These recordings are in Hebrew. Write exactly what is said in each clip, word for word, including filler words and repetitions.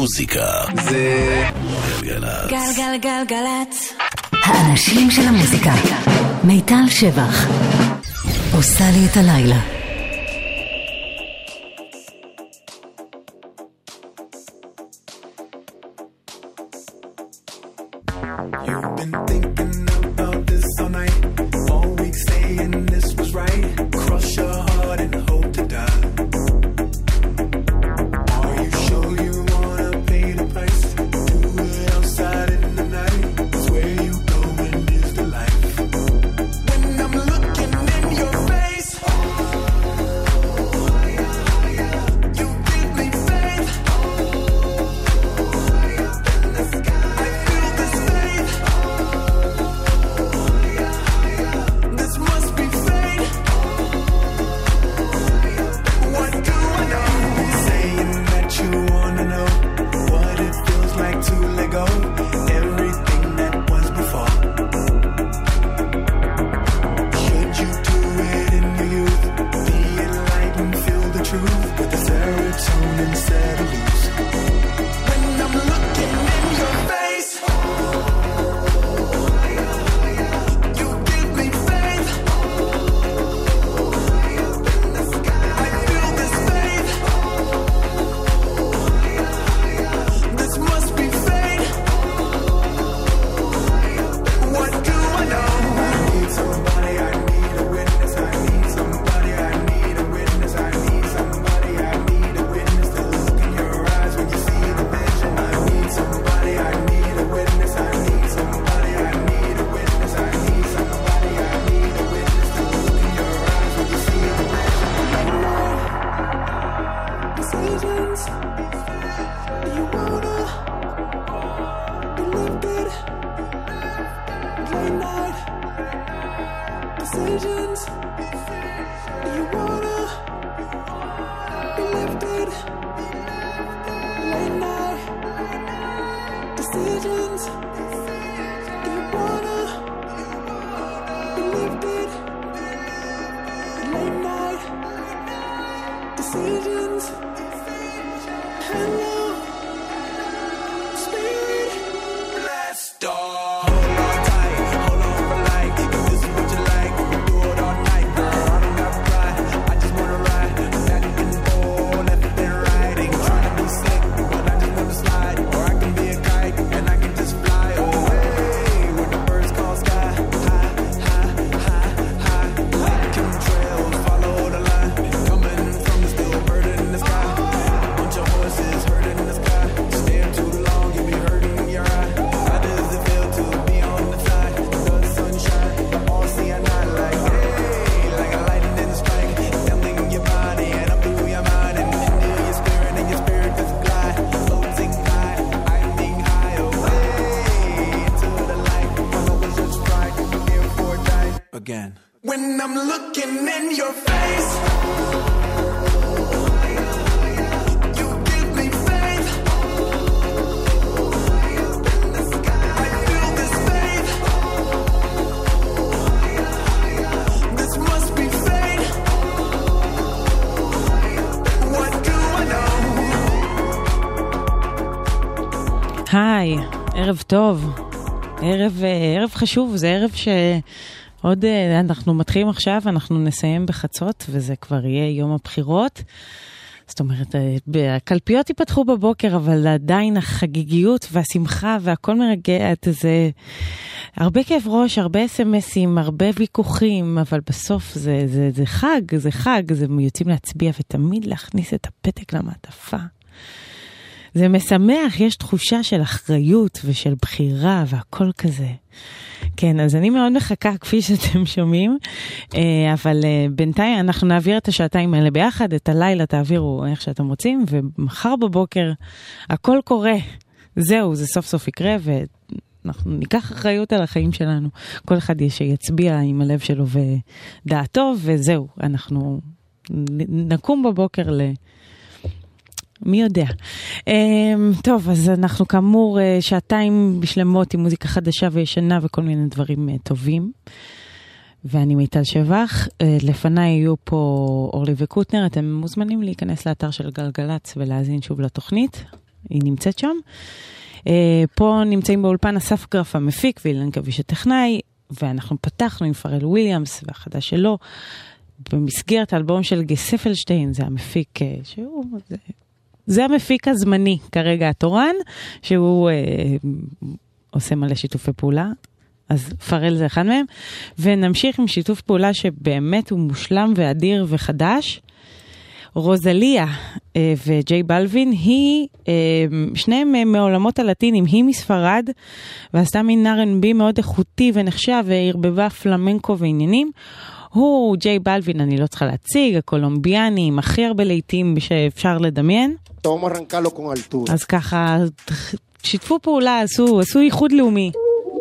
מוזיקה זה גלגלצ. גלגלגלגלצ. האנשים של המוזיקה. מיטל שבח עושה לי את הלילה. You've been thinking about this all night, all week saying this was right. Cross your heart and hope to die. Are you sure you wanna pay the price? Do it outside in the night. It's where you go when is the life. When I'm looking in your face, you give me faith. I feel this faith. This must be fate. What do I know? Saying that you wanna know what it feels like to let go everything that was before. Should you do it in your youth? Be enlightened, feel the truth with the serotonin set loose. When I'm looking in your face, you give me faith. I feel this faith. This must be fate. What do I know? I need somebody, I need a witness. I need somebody, I need a witness. I need somebody, I need a witness to look in your eyes when you see the vision. I need somebody, I need a witness. I need somebody, I need a witness. I need somebody, I need a witness to look in your eyes when you see the vision. Decisions. Do you wanna be lifted? Late night decisions. Do you wanna be lifted? Late night decisions. Do you wanna be lifted? Late night decisions. Hello, spirit. Let's start. Hold on tight, hold on for life. If this is what you like, we do it all night, girl. I don't got pride, I just wanna ride. Back and forth, left and right. Ain't trying to be slick, but I just wanna slide. Or I can be a kite, and I can just fly away. Where the birds call sky, high, high, high, high. Like chemtrails, follow the line. Coming from the still bird in the sky. Bunch of horses herding in the sky. Stare too long, you'll be hurting your eye. How does it feel to be on the side? The sunshine, but all see at night like, hey, like a lightning in the strike. Tumbling your body and up through your mind and into your spirit, and your spirit just fly. Floating high, I'm being high away into the light. My love is just right, here for a night again. When I'm looking in your face, you give me faith. I feel this faith. This must be fate. What do I know? היי, ערב טוב, ערב, ערב חשוב, זה ערב שעוד אנחנו מתחילים עכשיו, אנחנו נסיים בחצות, וזה כבר יהיה יום הבחירות. זאת אומרת, הקלפיות ייפתחו בבוקר, אבל עדיין החגיגיות והשמחה והכל מרגע, זה הרבה כאב ראש, הרבה אס-אמסים, הרבה ויכוחים, אבל בסוף זה, זה, זה חג, זה חג, זה יוצאים להצביע ותמיד להכניס את הפתק למעטפה. זה משמח, יש תחושה של אחריות ושל בחירה והכל כזה. כן, אז אני מאוד מחכה כפי שאתם שומעים, אבל בינתיים אנחנו נעביר את השעתיים האלה ביחד, את הלילה תעבירו איך שאתם רוצים, ומחר בבוקר הכל קורה. זהו, זה סוף סוף יקרה, ואנחנו ניקח אחריות על החיים שלנו. כל אחד שיצביע עם הלב שלו ודעתו, וזהו, אנחנו נקום בבוקר ל... מי יודע. טוב, אז אנחנו כאמור שעתיים בשלמות עם מוזיקה חדשה וישנה וכל מיני דברים טובים. ואני מיטל שבח. לפניי יהיו פה אורלי וקוטנר. אתם מוזמנים להיכנס לאתר של גלגלץ ולהזין שוב לתוכנית. היא נמצאת שם. פה נמצאים באולפן אסף גרף המפיק ואילן גביש הטכנאי, ואנחנו פתחנו עם פרל וויליאמס והחדש שלו, במסגרת האלבום של גספלשטיין, זה המפיק שהוא, זה, זה המפיק הזמני כרגע התורן, שהוא אה, עושה מלא שיתופי פעולה, אז פרל זה אחד מהם, ונמשיך עם שיתוף פעולה שבאמת הוא מושלם ואדיר וחדש, רוזליה אה, וג'יי בלווין, היא, אה, שניהם מעולמות הלטינים, היא מספרד, ועשתה מין אר אנד בי מאוד איכותי ונחשב, והרבבה פלמנקו ועניינים, הוא ג'יי בלווין, אני לא צריכה להציג, הקולומביאני, עם הכי הרבה לעיתים שאפשר לדמיין. אז ככה, שיתפו פעולה, עשו, עשו ייחוד לאומי.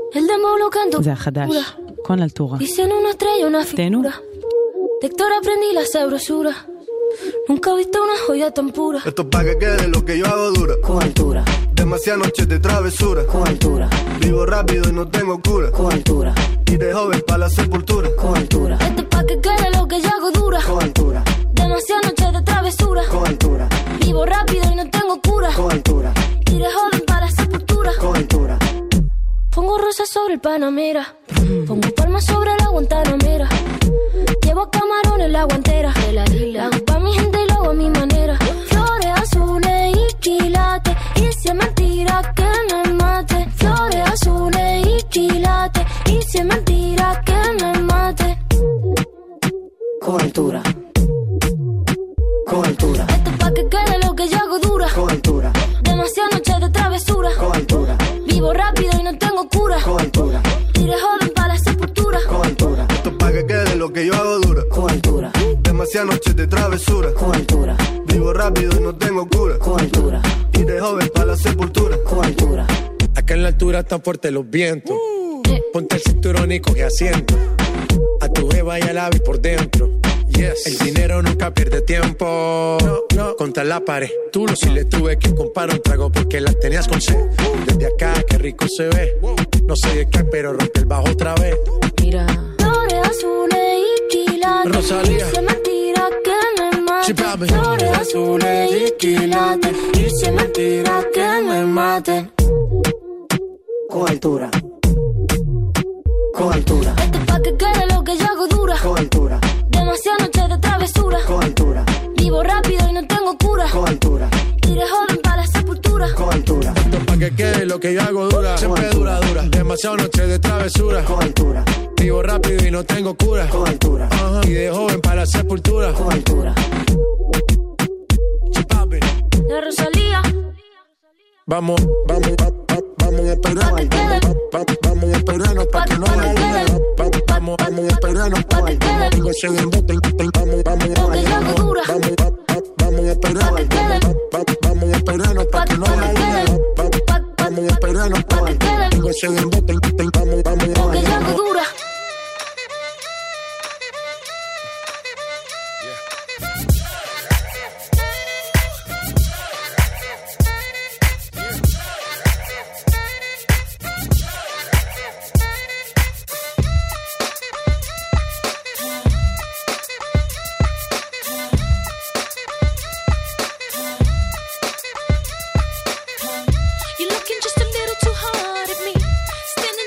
זה החדש, con altura. תנו. Lector aprendí la sabrosura. Nunca he visto una joya tan pura. Esto es pa' que quede lo que yo hago dura. Con altura. Demasiadas noches de travesura. Con altura. Vivo rápido y no tengo cura. Con altura. Y de joven pa' la sepultura. Con altura. Esto es pa' que quede lo que yo hago dura. Con altura. Demasiadas noches de travesura. Con altura. Vivo rápido y no tengo cura. Con altura. Y de joven pa' la sepultura. Con altura. Pongo rosas sobre el Panamera. Pongo palmas sobre la Guantanamera. Llevo camarones en la guantera. De la isla. Hago pa' mi gente y lo hago a mi manera. Flores azules y quilates. Y si es mentira que me mate. Flores azules y quilates. Y si es mentira que me mate. Con altura. Con altura. Esto es pa' que quede lo que yo hago dura. Con altura. Demasiadas noches de travesura. Con altura. Vivo rápido y no tengo cura. Con altura. Y de joven pa' la sepultura. Con altura. Esto es pa' que quede lo que yo hago dura. Con altura. Demasiadas noches de travesura. Con altura. Vivo rápido y no tengo cura. Con altura. Y de joven pa' la sepultura. Con altura. Acá en la altura están fuertes los vientos. Ponte el cinturón y coge asiento. A tu jeva y al ave por dentro. Yes. El dinero nunca pierde tiempo. No, no. Contra la pared. Tú lo si le tuve que comprar un trago porque la tenías con sed. Desde acá, qué rico se ve. No sé de qué, pero rompe el bajo otra vez. Mira. Flores azules y quilates. Rosalía. Y si es mentira que me mate. Sí, papi. Flores azules y quilates. Y si es mentira que me mate. Con altura. Con altura. Esto es pa' que quede lo que yo hago dura. Con altura. Demasiadas noches de travesura. Con altura. Vivo rápido y no tengo cura. Con altura. Y de joven pa' la sepultura. Con altura. Esto es pa' que quede lo que yo hago dura. Siempre dura, dura. Demasiadas noches de travesura. Con altura. Vivo rápido y no tengo cura. Con altura. Ajá. Y de joven para la sepultura. Con altura. Sí, papi. La Rosalía. Vamos, vamos, va, va, vamos a esperar. Pa' que quede. Va, va, vamos a esperarnos pa' que no Pa' que haya quede. luna. Va, va, Vamos, vamos a esperarnos Pa' que quede. Tengo ese embote, vamos, vamos, Lo que yo hago dura. vamos, va, va, vamos a esperar. Pa' que quede. Va, va, vamos a esperarnos pa' que no Pa' que haya luna. quede. Va, va, vamos a esperarnos Pa' que quede. Tengo ese embote, vamos, vamos, Lo que yo hago dura. You're looking just a little too hard at me. Standing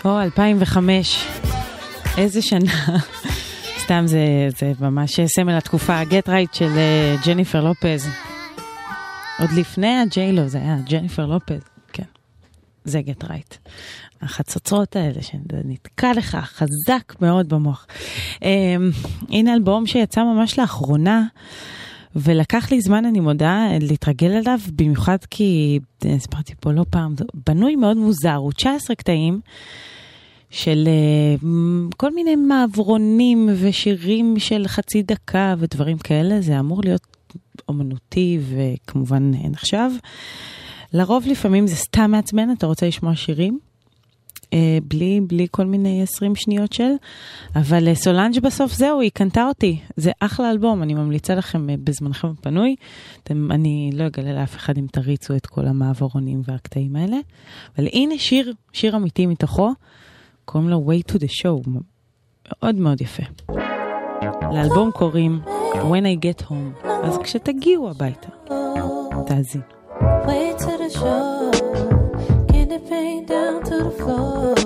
או, אלפיים וחמש. איזה שנה. סתם זה, זה ממש סמל התקופה, Get Right של uh, ג'ניפר לופז. עוד לפני הג'יילו, זה היה ג'ניפר לופז. כן, זה Get Right. החצוצרות האלה שנתקע לך חזק מאוד במוח. Um, הנה אלבום שיצא ממש לאחרונה, ולקח לי זמן, אני מודה, להתרגל אליו, במיוחד כי, הסברתי פה לא פעם, בנוי מאוד מוזר, הוא תשע עשרה קטעים, של uh, כל מיני מעברונים ושירים של חצי דקה ודברים כאלה, זה אמור להיות אומנותי וכמובן נחשב. לרוב לפעמים זה סתם מעצבן, אתה רוצה לשמוע שירים, uh, בלי, בלי כל מיני עשרים שניות של, אבל uh, סולנג' בסוף זהו, היא קנתה אותי, זה אחלה אלבום, אני ממליצה לכם uh, בזמנכם הפנוי, אתם, אני לא אגלה לאף אחד אם תריצו את כל המעברונים והקטעים האלה, אבל הנה שיר, שיר אמיתי מתוכו, קוראים לו Way to the Show, מאוד מאוד יפה. לאלבום קוראים When I Get Home, אז כשתגיעו הביתה, תאזין. Way to the show, can it paint down to the floor?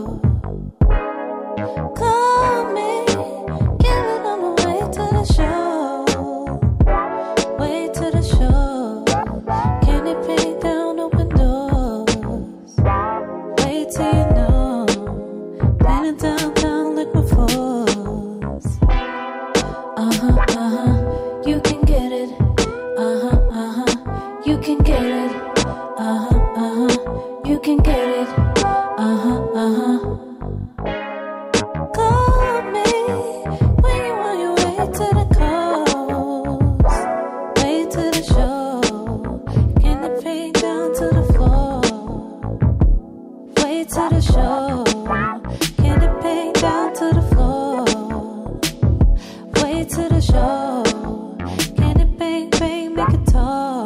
Call me, get it on the way to the show. Way to the show, can it paint down open doors? Wait till you know, painting downtown like my force. Uh-huh, uh-huh, you can get it. Uh-huh, uh-huh, you can get it. Uh-huh, uh-huh, you can get it. Uh-huh, uh-huh. Call me when you on your way to the coast. Way to the show, can it paint down to the floor? Way to the show, can it paint down to the floor? Way to the show, can it paint, paint, make it tall?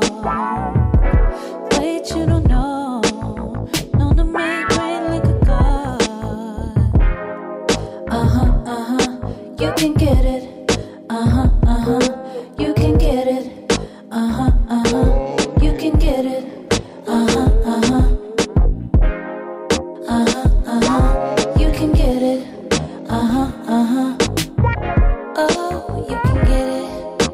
Wait, you don't know, know to make rain like a god. Uh-huh, uh-huh, you can get it. Uh-huh, uh-huh, you can get it. Uh-huh, uh-huh, you can get it. Uh-huh, uh-huh. Uh-huh, uh-huh, you can get it. Uh-huh, uh-huh. Oh, you can get it.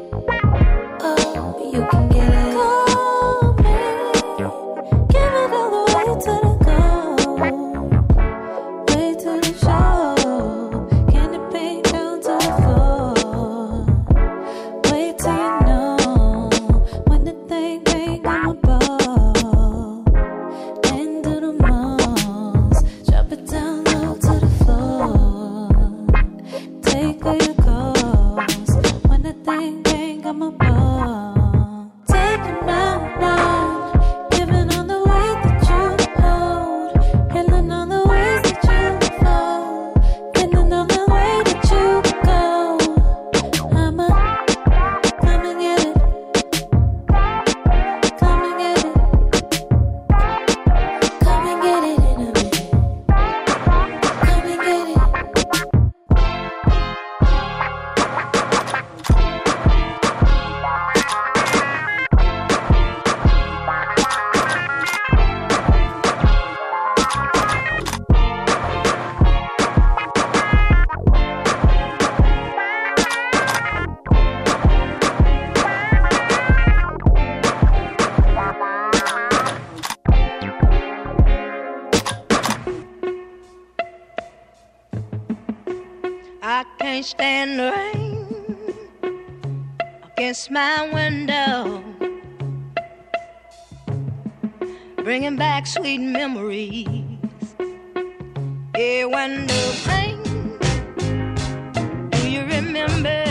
Oh, you can get it. Call me, give it all the way to the goal. Way to the show, can it paint down to the floor? Wait till you know, when the thing bang on my ball. End of the most, drop it down low to the floor. Take all your calls, when the thing bang on my ball. Take them out loud, giving on the way that you hold, healing on the ways that you flow, getting on the way that you go. I'ma come and get it, come and get it, come and get it in a minute, come and get it. I can't stand the rain against my window, bringing back sweet memories. Yeah, when the rain, do you remember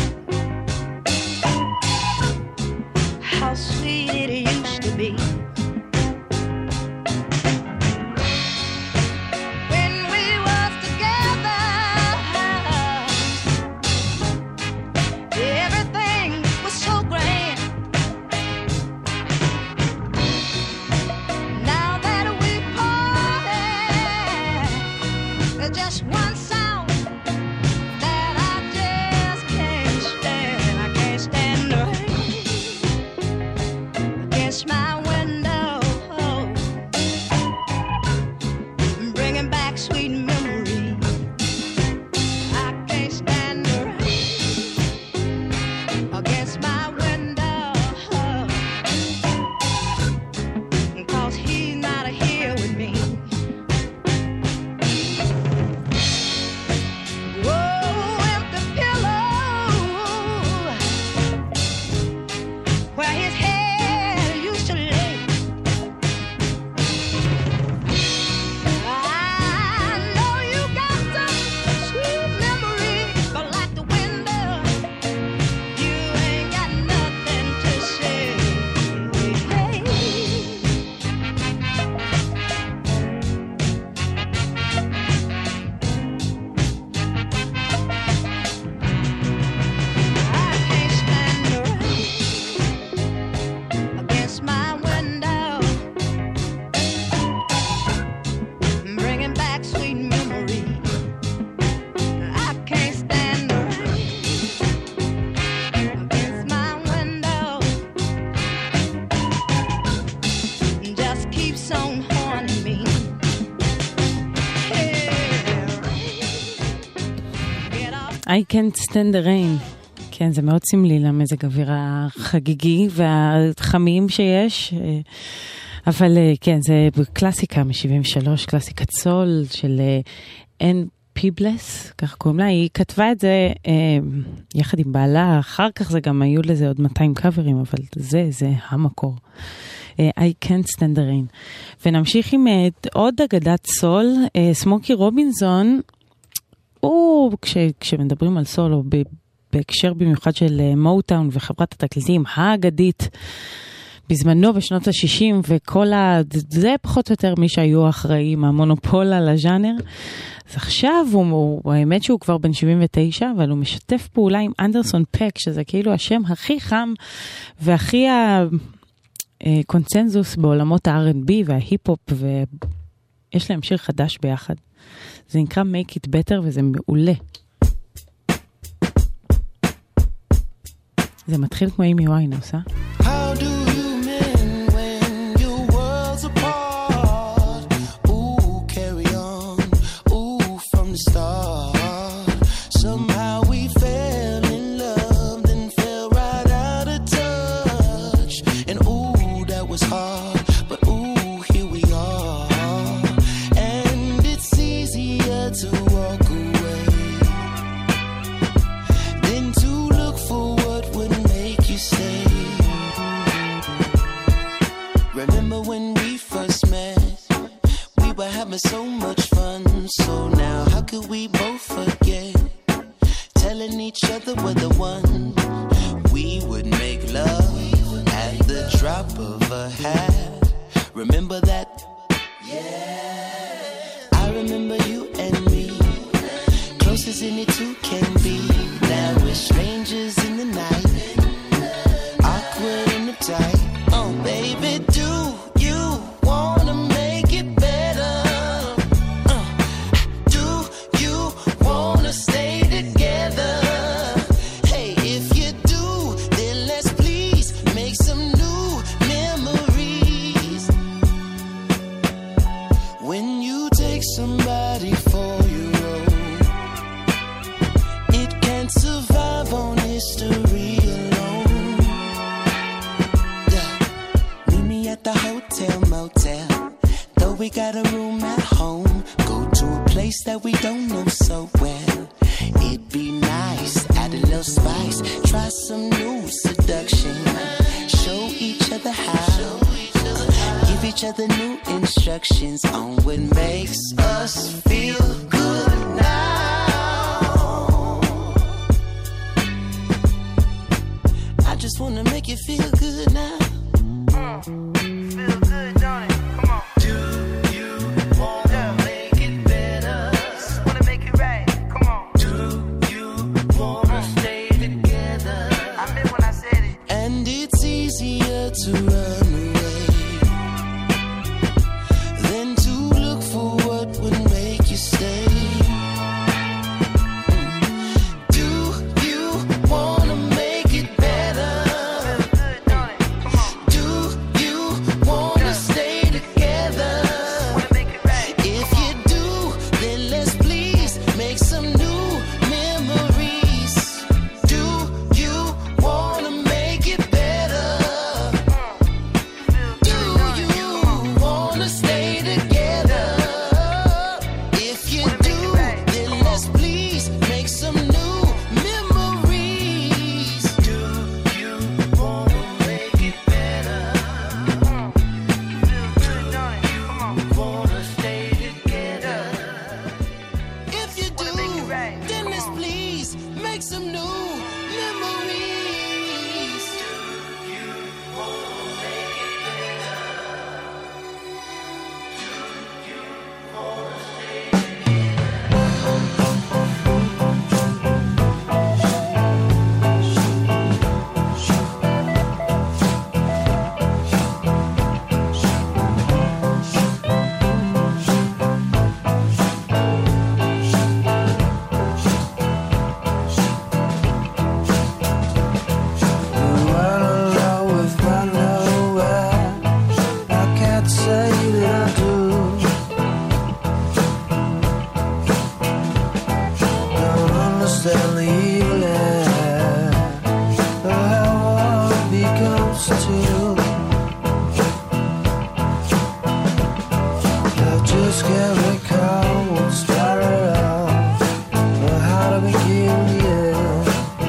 how sweet it used to be? When we was together, everything was so grand. Now that we parted, there's just one I can't stand the rain. כן, זה מאוד סמלי למזג אוויר החגיגי והחמים שיש. אבל כן, זה קלאסיקה מ-שבעים ושלוש, קלאסיקת סול של אן פיבלס, כך קוראים לה. היא כתבה את זה יחד עם בעלה, אחר כך זה גם היו לזה עוד מאתיים קאברים, אבל זה, זה המקור. I can't stand the rain. ונמשיך עם עוד אגדת סול, סמוקי רובינזון, הוא, כש, כשמדברים על סול, או בהקשר במיוחד של מוטאון וחברת התקליטים האגדית, בזמנו בשנות ה-שישים, וכל ה... זה פחות או יותר מי שהיו אחראים, המונופול על הז'אנר. אז עכשיו הוא, הוא, האמת שהוא כבר בן שבעים ותשע, אבל הוא משתף פעולה עם אנדרסון פק, שזה כאילו השם הכי חם, והכי הקונצנזוס בעולמות ה-אר אנד בי וההיפ-הופ, ויש להם שיר חדש ביחד. זה נקרא Make It Better, וזה מעולה. זה מתחיל כמו אימי ויינהאוס, אה? How do you mend when your world's apart? Ooh, carry on. Ooh, from the start. Somehow we fell in love, then fell right out of touch. And ooh, that was hard, but ooh, here we are. And it's easier to walk away than to look for what would make you stay. Remember when we first met, we were having so much fun. So now how could we both forget, telling each other we're the one. We would make love at the drop of a hat. Remember that? Yeah. I remember you and me, close as any two can be. Now we're strangers in the night, awkward and uptight. Oh baby, do you wanna make it better? Uh, do you wanna stay together? Hey, if you do, then let's please make some new memories. When you take somebody for your own, it can't survive on history alone. Yeah, meet me at the hotel motel. Though we got a room at home, go to a place that we don't know so well. It'd be nice, add a little spice, try some new seduction, show each other how, give each other new instructions on what makes us feel good now. I just wanna make you feel good now. Feel good, don't it? Come on. Do you wanna make it better? Wanna make it right? Come on. Do you wanna stay together? I meant when I said it. And it's easier to run away than to look for what would make you stay. Do you wanna make it better? Do you wanna stay together? If you do, then let's please make some new memories. Do you wanna make it better? used to. I just can't recall what started out or how to begin the end.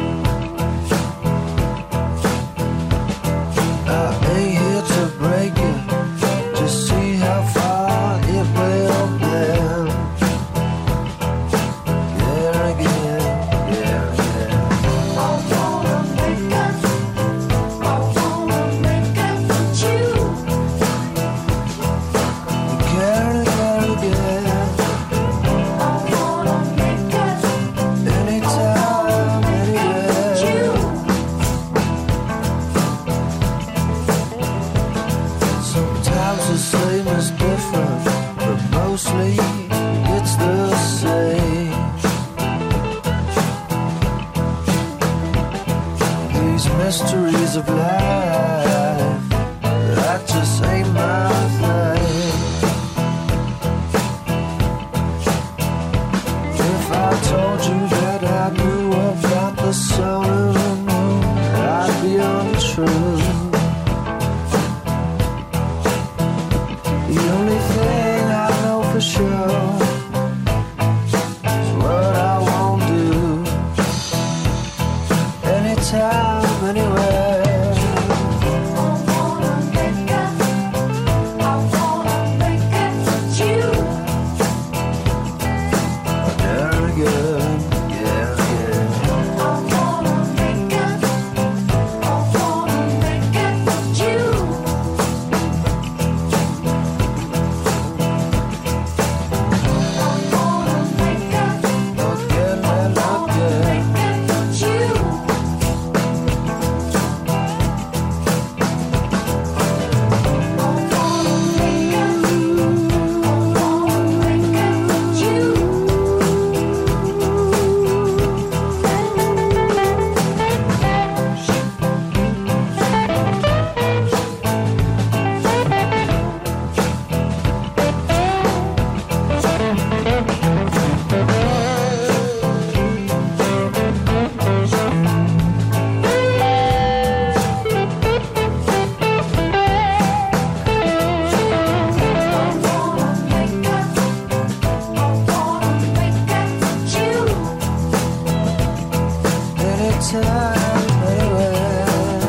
I ain't here to break it, just see how far it will bend. Yeah, again, yeah, yeah. I wanna make up, I wanna make up with you. Again, again, again. I wanna make up, Anytime, anywhere. you. Sometimes the same is different, but mostly it's the same. These mysteries of life, that just ain't my thing. If I told you that I knew about the sun and the moon, I'd be untrue. The only thing I know for sure is what I won't do. Anytime, anywhere. I wanna make up, I wanna make up with you. Again, again, yeah, yeah. I wanna make up, I wanna make up with you. I wanna make up, Again and again. make up with you. Anytime, anywhere.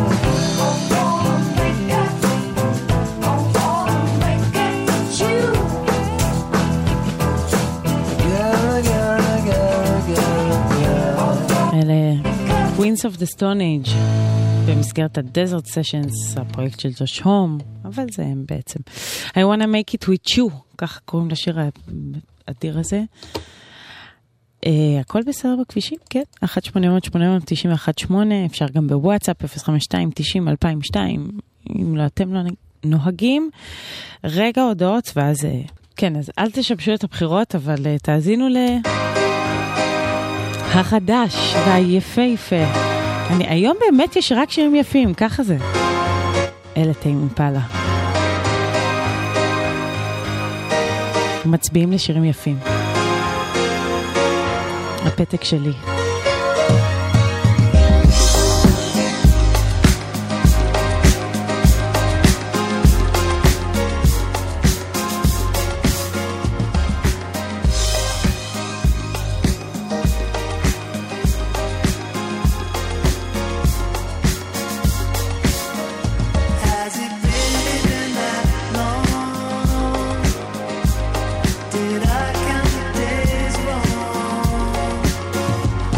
Again, again, again, again, again. אלה Queens of the Stone Age במסגרת ה-Desert Sessions, הפרויקט של ג'וש הום, אבל זה הם בעצם. I wanna make it with you, כך קוראים לשיר האדיר הזה. Uh, הכל בסדר בכבישים, כן, אחת שמונה אפס אפס שמונה אפס תשע אחת שמונה, אפשר גם בוואטסאפ אפס חמש שתיים תשעים אלפיים ושתיים, אם לא אתם לא נוהגים. רגע הודעות, ואז, uh, כן, אז אל תשבשו את הבחירות, אבל uh, תאזינו ל... החדש והיפה יפה. אני, היום באמת יש רק שירים יפים, ככה זה. אלה טיים אימפלה. מצביעים לשירים יפים. הפתק שלי. Has it really been that long? Did I count the days wrong?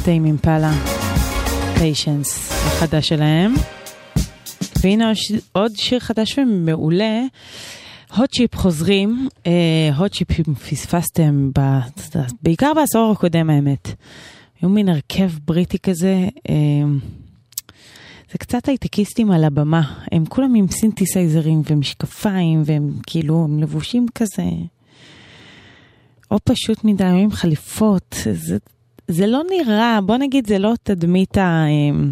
טיים אימפלה, פיישנס, החדש שלהם. והנה עוד שיר חדש ומעולה, הוט צ'יפ חוזרים, הוט צ'יפ פספסתם ב, בעיקר בעשור הקודם האמת. היו מין הרכב בריטי כזה, זה קצת הייטקיסטים על הבמה, הם כולם עם סינתסייזרים ומשקפיים, והם כאילו הם לבושים כזה, או פשוט מדי, עם חליפות, זה, זה לא נראה, בוא נגיד זה לא תדמית ה...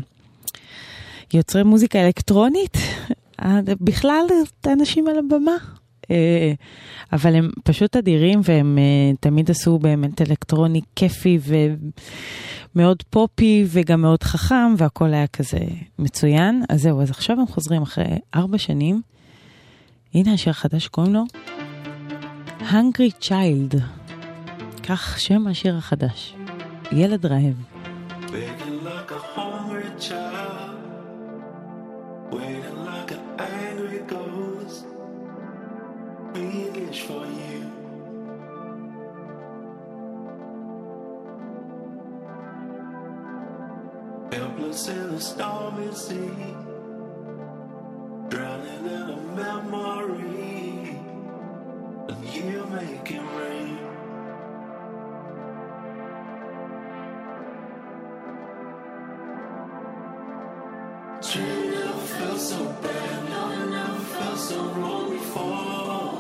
יוצרי מוזיקה אלקטרונית, בכלל אנשים על הבמה, אבל הם פשוט אדירים, והם תמיד עשו באמת אלקטרוני כיפי ומאוד פופי וגם מאוד חכם, והכל היה כזה מצוין. אז זהו, אז עכשיו הם חוזרים אחרי ארבע שנים. הנה השיר החדש, קוראים לו Hungry Child, כך שם השיר החדש, ילד רעב. Begging like a hungry child, waiting like an angry ghost, we wish for you. Helpless in a stormy sea, drowning in a memory, and you make it rain. Dream never felt so bad, no, I never felt so wrong before.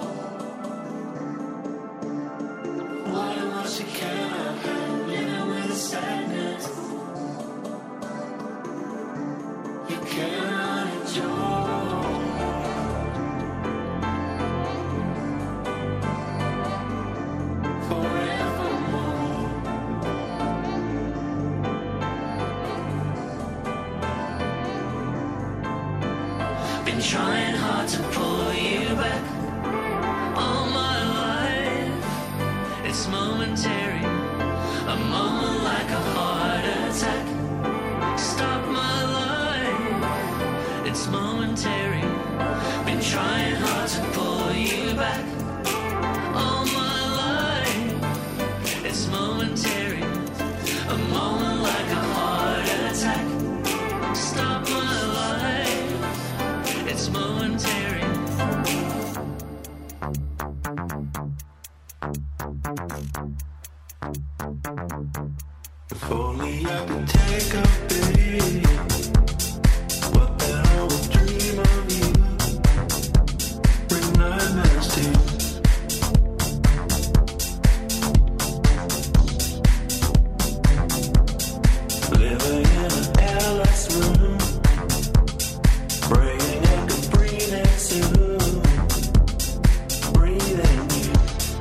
Why not she cannot handle living with the sadness? You cannot enjoy. Forevermore. Been trying hard to pull you back all my life. It's momentary, a moment like a heart attack. Stop my life, it's momentary. Been trying hard to pull you back all my life. It's momentary, a moment like a heart attack. Stop my life, it's momentary. If only I could take a beat, but then I would dream of you. Bring nightmares to you. Living in an airless room, praying I could breathe in soon. Breathe in you.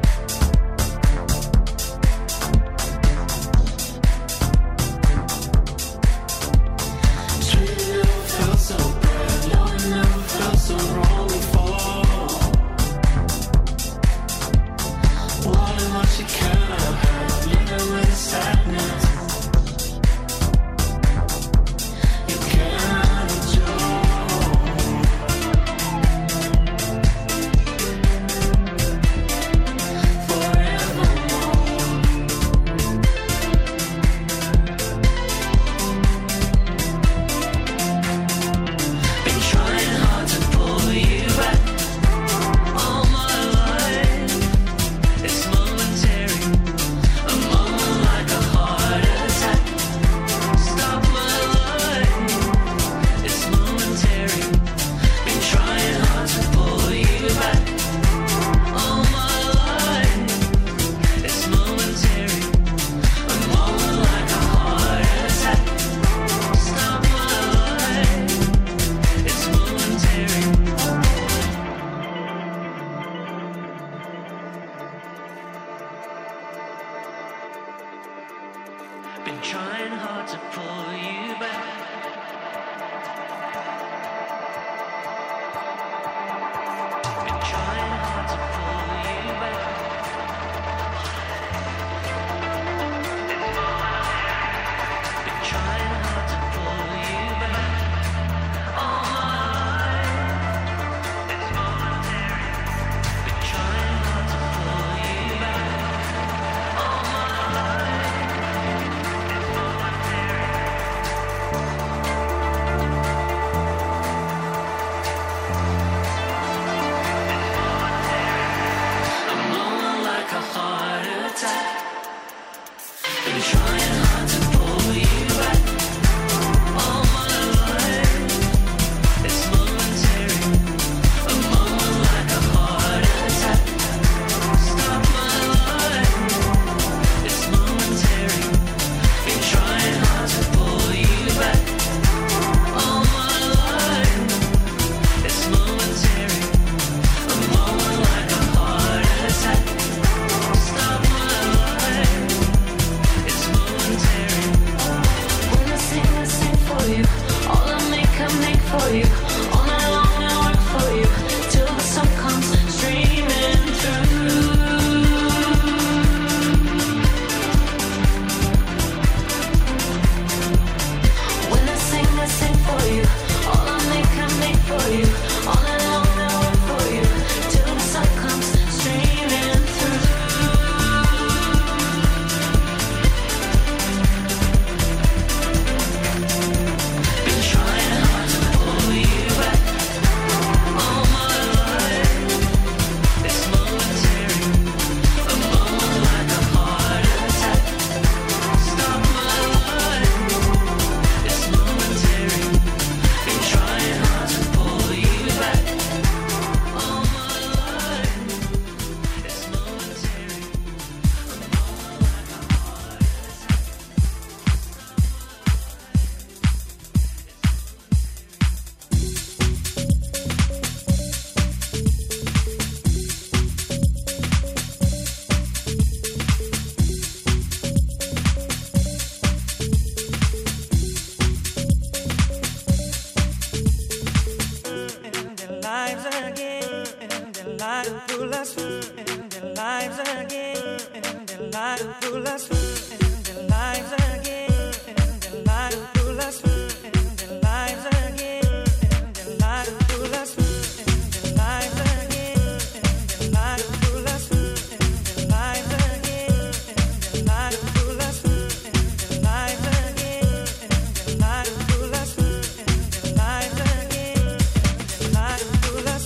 Dream never felt so bad, no, I never felt so wrong before. Why much you cannot have, living with sadness. You cannot enjoy. Been trying hard to pull you back all my life. It's momentary, a moment like a heart attack. Stop my life, it's momentary. Been trying hard to pull you back all my life. It's momentary, a moment like a heart attack. Stop my life, it's momentary. Been trying hard to pull you back. Been trying hard to pull you back. Been trying hard to pull you back all my life. It's momentary. Been trying hard to pull you back all my life. It's momentary. lives full of in their lives again, in their lives full of in their lives again, in their lives full of in their lives again, in their lives full of in their lives again, in their lives full of in their lives again, in their lives full of in their lives again, in their lives full of in their lives again, in their lives full of.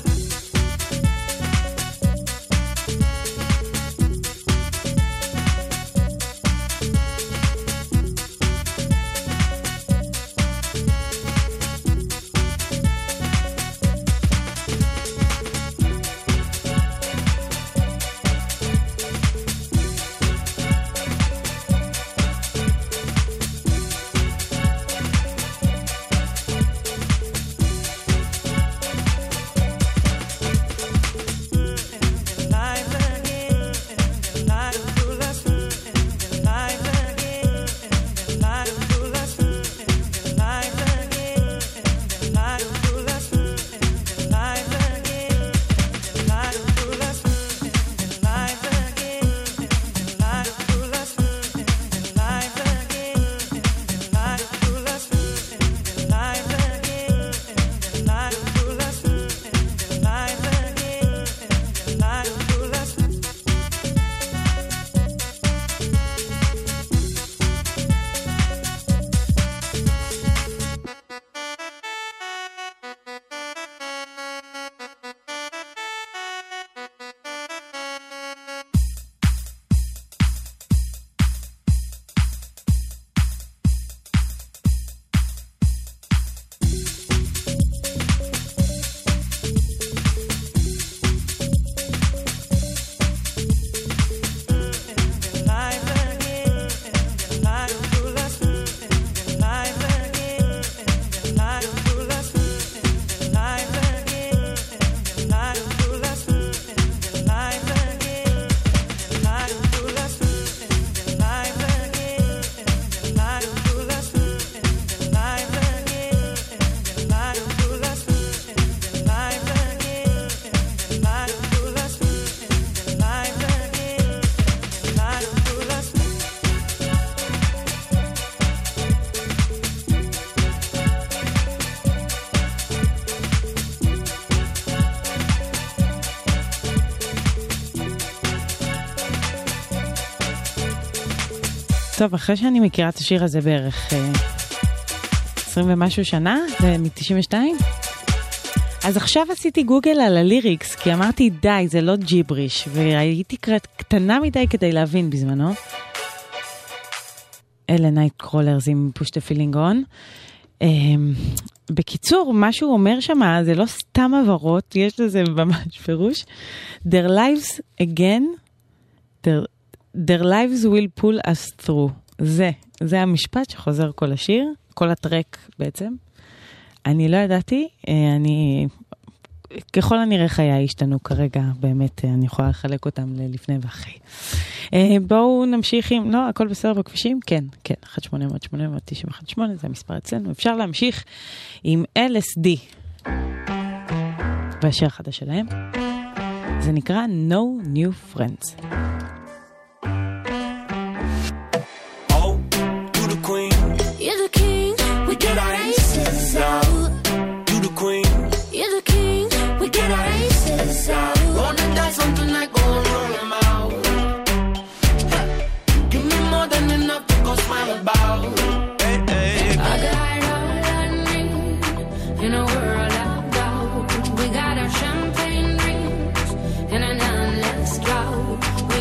טוב, אחרי שאני מכירה את השיר הזה בערך אה, עשרים ומשהו שנה, זה מ-תשעים ושתיים, אז עכשיו עשיתי גוגל על הליריקס, כי אמרתי די, זה לא ג'יבריש, והייתי קטנה מדי כדי להבין בזמנו. אלה נייט קרולרס עם push the feeling on. אה, בקיצור, מה שהוא אומר שמה, זה לא סתם עברות, יש לזה ממש פירוש. Their lives again, their Their lives will pull us through. זה, זה המשפט שחוזר כל השיר, כל הטרק בעצם. אני לא ידעתי, אני, ככל הנראה חיי השתנו כרגע, באמת, אני יכולה לחלק אותם ללפני ואחרי. בואו נמשיך עם, לא, הכל בסדר בכבישים? כן, כן, אחת שמונה אפס אפס שמונה תשע אחת שמונה, זה המספר אצלנו. אפשר להמשיך עם אל אס די. והשיר החדש שלהם, זה נקרא No New Friends. You're the king, we get our aces out. You the queen. You're the king, we get our aces out. Wanna dance something like going on them out. Give me more than enough to go smile about. Hey, hey. I got all I need in a world of doubt. We got our champagne drinks and an endless drought.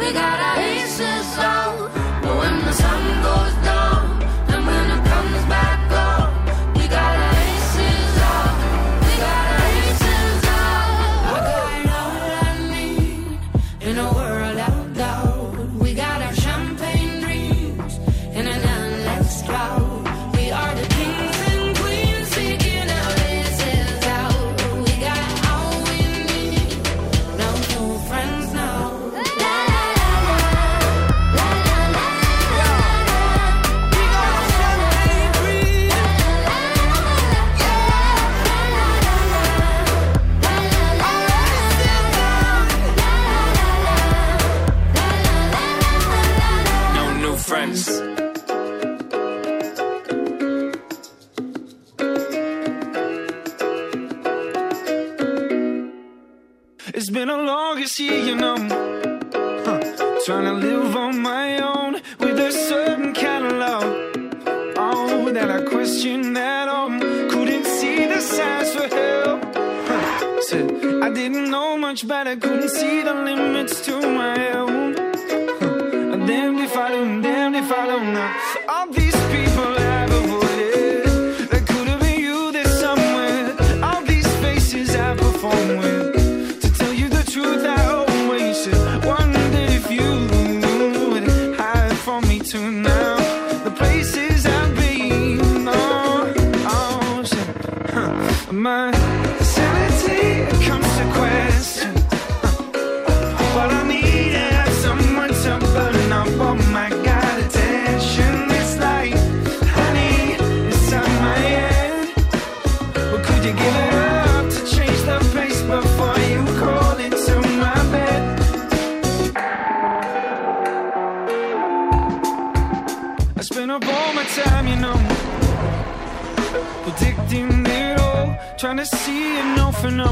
We got our aces out, but when the sun goes down and when it comes back up, we got our aces out. We got our aces out. I got all I need in a world of doubt. We got our champagne dreams in an endless drought. We are the kings and queens seeking our aces out. We got all we need, no new friends now. La la la la, la la la la. We got our champagne dreams. La la la la, yeah. La la la la, la la la la. La la la la, No new friends. It's been a longest year, you know. Huh. Trying to live on my own with a certain kind of love. Oh, that I questioned at all. Couldn't see the signs for help. Huh. Said I didn't know much better. Couldn't see the limits to my own. Huh. Damned if I do, damned if I don't know. All these people I've avoided, that could have been you there somewhere. All these faces I perform with. Truth I always said, wondered if you would hide from me too now. The places I've been, oh, oh, so, huh. My sanity comes to question, huh. But I need to have someone to burn up. Oh my God, attention, it's like honey inside my head. But could you give it up to change the pace before you call it? Up all my time, you know, predicting it all, trying to see it no for no.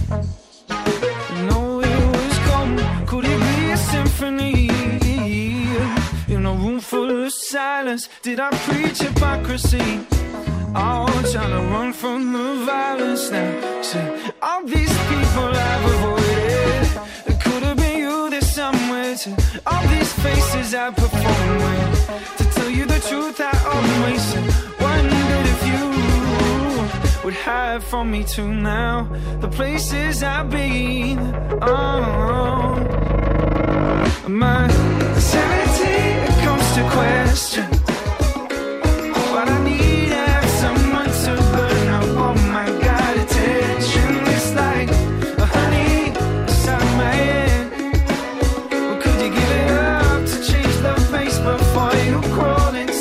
No, it was gone. Could it be a symphony in a room full of silence? Did I preach hypocrisy? Oh, trying to run from the violence now. See, all these people I've avoided, it could have been you there somewhere. To all these faces I perform with. You the truth I always said, wondered if you would hide from me too now. The places I've been, oh, my sanity comes to question, but I need to have someone to burn up. Oh my God, attention, it's like a honey inside my head. Well, could you give it up to change the face before you crawl?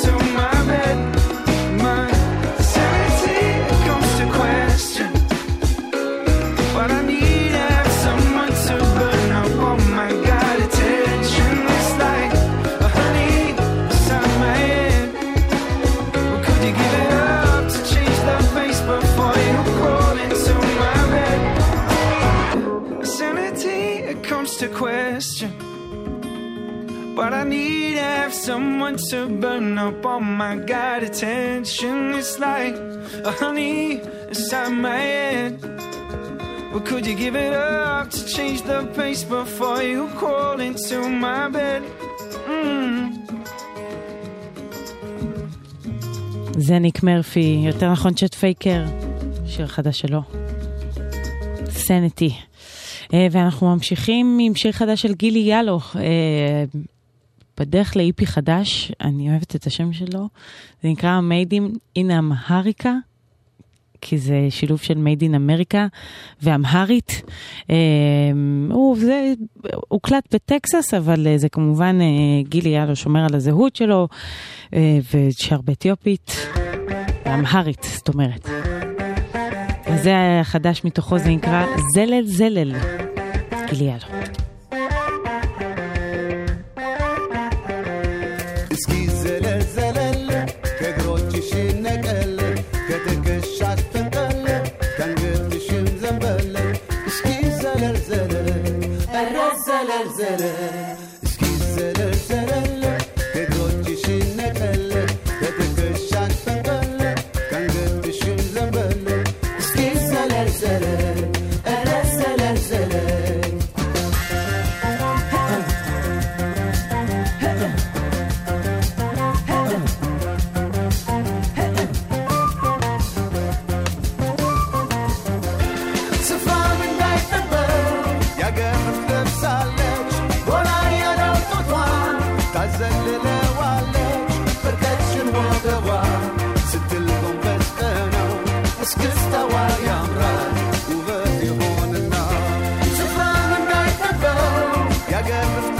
To question, but I need to have someone to burn up. Oh my God, attention, it's like a honey inside my head. But could you give it up to change the pace before you crawl into my bed? Mm. זה ניק מרפי, יותר נכון צ'ט פייקר, שיר חדש שלו, סניטי. ואנחנו ממשיכים עם שיר חדש של גילי ילו, בדרך לאיפי חדש, אני אוהבת את השם שלו, זה נקרא Made in Amharica, כי זה שילוב של Made in America ואמהרית. הוא, זה, הוא קלט בטקסס, אבל זה כמובן גילי ילו שומר על הזהות שלו, ושר באתיופית, אמהרית, זאת אומרת. אז זה החדש מתוכו, זה נקרא זלל זלל, גילי ילו. እስኪ ዘለል ዘለል ከእግሮችሽን ነቀል ከትከሻሽ ፈንጠል ከአንገትሽም ዘንበል እስኪ ዘለል ዘለል ኧረ ዘለል ዘለል እስኪ ዘለል ዘለል ከእግሮችሽን ነቀል ከትከሻሽ ፈንጠል ከአንገትሽም ዘንበል እስኪ ዘለል ዘለል ኧረ ዘለል ዘለል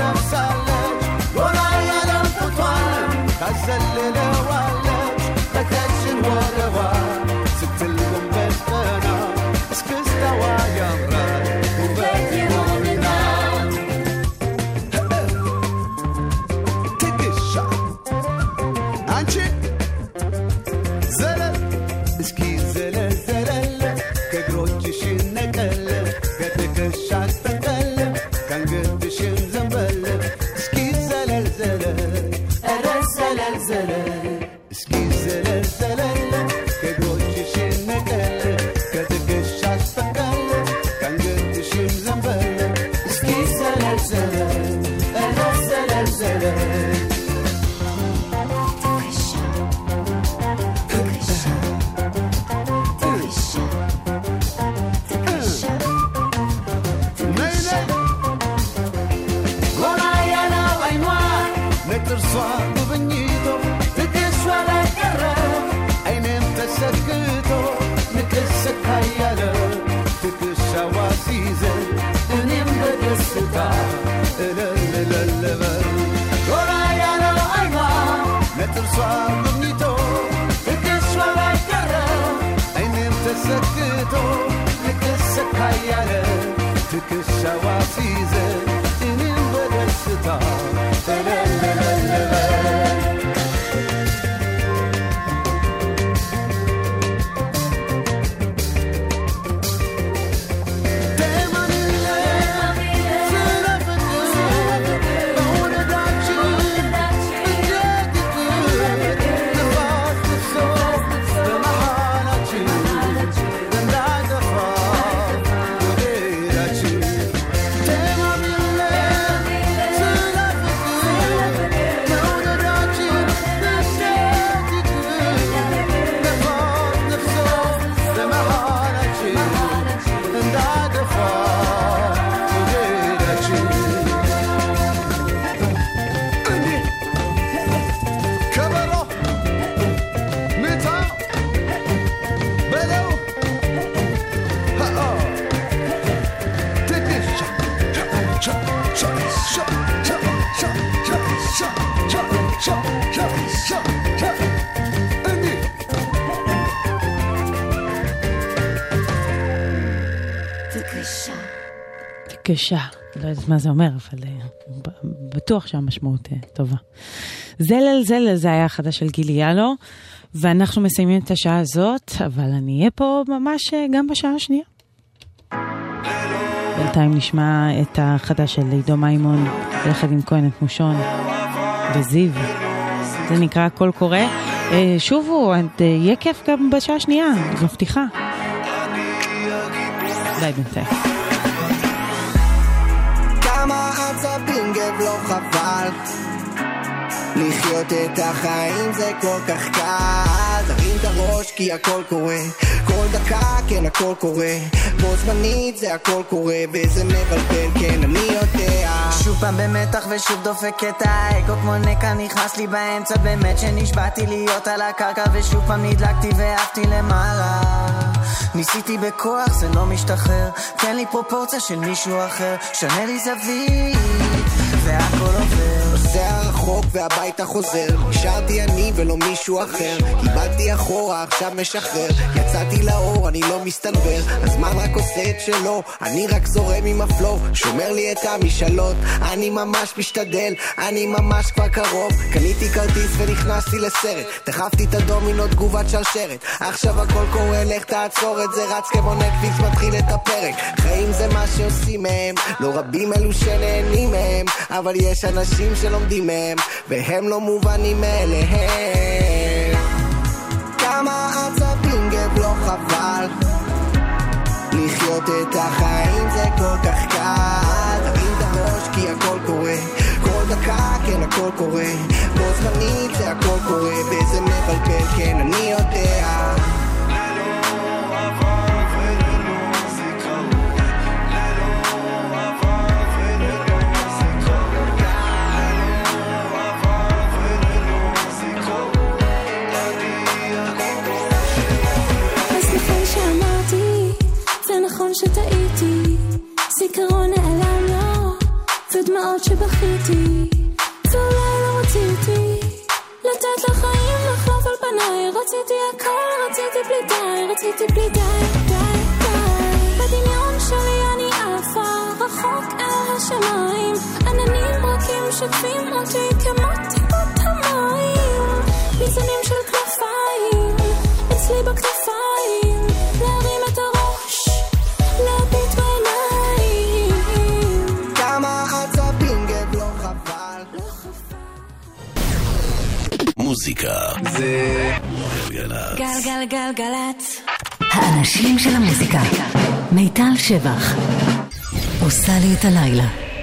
ትነፍሳለች ጎራ ያለም ጡቷን ታዘልለዋለች በቀጭን ወገቧ ስትል ጎንበስ ቀና እስክስታዋ ያምራል ውበት ይሆንና ትግሻ አንቺ ዘለል እስኪ ዘለል ዘለል ከእግሮችሽን ነቀል ከትከሻሽ ጠቀል ከአንገትሽን ዘንበል እስኪ ዘለል ዘለል ኧረ ዘለል ዘለል እስኪ ዘለል ዘለል ከእግሮችሽን ነቀል ከትከሻሽ ጠቀል ከአንገትሽን ዘንበል እስኪ ዘለል ዘለል ኧረ ዘለል ዘለል ጥርሷ ጉብኝቶ ትግሷ ላይ ቀረ አይኔም ተሰክቶ ንቅስካ ያለ ትግሻዋ ሲዘን እኔም በደስታ እለልለልበል ጎራ ያለው አይኗ ለጥርሷ ጉብኝቶ ትግሷ ላይ ቀረ አይኔም ተሰክቶ ንቅስካ ያለ ትግሻዋ ሲዘን እኔም በደስታ תקשה, לא יודעת מה זה אומר, אבל בטוח שהמשמעות טובה. זלל זלל זה היה החדש של גילי ילו, ואנחנו מסיימים את השעה הזאת, אבל אני אהיה פה ממש גם בשעה השנייה. בינתיים נשמע את החדש של עידו מימון, יחד עם כהן את מושון וזיו. זה נקרא קול קורא. שובו, יהיה כיף גם בשעה השנייה, אני מבטיחה. ביי בינתיים. כמה עצבים גב לא חבל לחיות את החיים זה כל כך קל תרים את הראש כי הכל קורה כל דקה כן הכל קורה בו זמנית זה הכל קורה וזה מבלבל כן אני יודע שוב פעם במתח ושוב דופק את האגו כמו נקע נכנס לי באמצע באמת שנשבעתי להיות על הקרקע ושוב פעם נדלקתי ואהבתי למעלה ניסיתי בכוח זה לא משתחרר תן לי פרופורציה של מישהו אחר שנה לי זווית והכל עובר זה הרחוק והביתה חוזר נשארתי אני ולא מישהו אחר קיבלתי אחורה עכשיו משחרר יצאתי לאור אני לא מסתנבר הזמן רק עושה את שלו אני רק זורם עם הפלו שומר לי את המשאלות אני ממש משתדל אני ממש כבר קרוב קניתי כרטיס ונכנסתי לסרט דחפתי את הדומינו תגובת שרשרת עכשיו הכל קורה לך תעצור את זה רץ כמו נטפליקס מתחיל את הפרק חיים זה מה שעושים מהם לא רבים אלו שנהנים מהם אבל יש אנשים שלומדים מהם והם לא מובנים אליהם כמה עצבים גב לא חבל לחיות את החיים זה כל כך קל תרים את הראש כי הכל קורה כל דקה כן הכל קורה בו זמנית זה הכל קורה וזה מבלבל כן אני יודע נכון שטעיתי, זיכרון נעלם לו, ודמע מאוד שבכיתי, ואולי לא רציתי לתת לחיים לחלוף על פניי. רציתי הכל, רציתי בלי די, רציתי בלי די, די, די. בדמיון שלי אני עפה רחוק אל השמיים, עננים רכים שוטפים אותי כמו טיפות המים, ניצנים של כנפיים אצלי בכתפיים, להרים את הראש, להביט בעיניים. כמה עצבים גב לא חבל. מוזיקה זה גלגלצ. גלגלגלגלצ. האנשים של המוזיקה. מיטל שבח עושה לי את הלילה.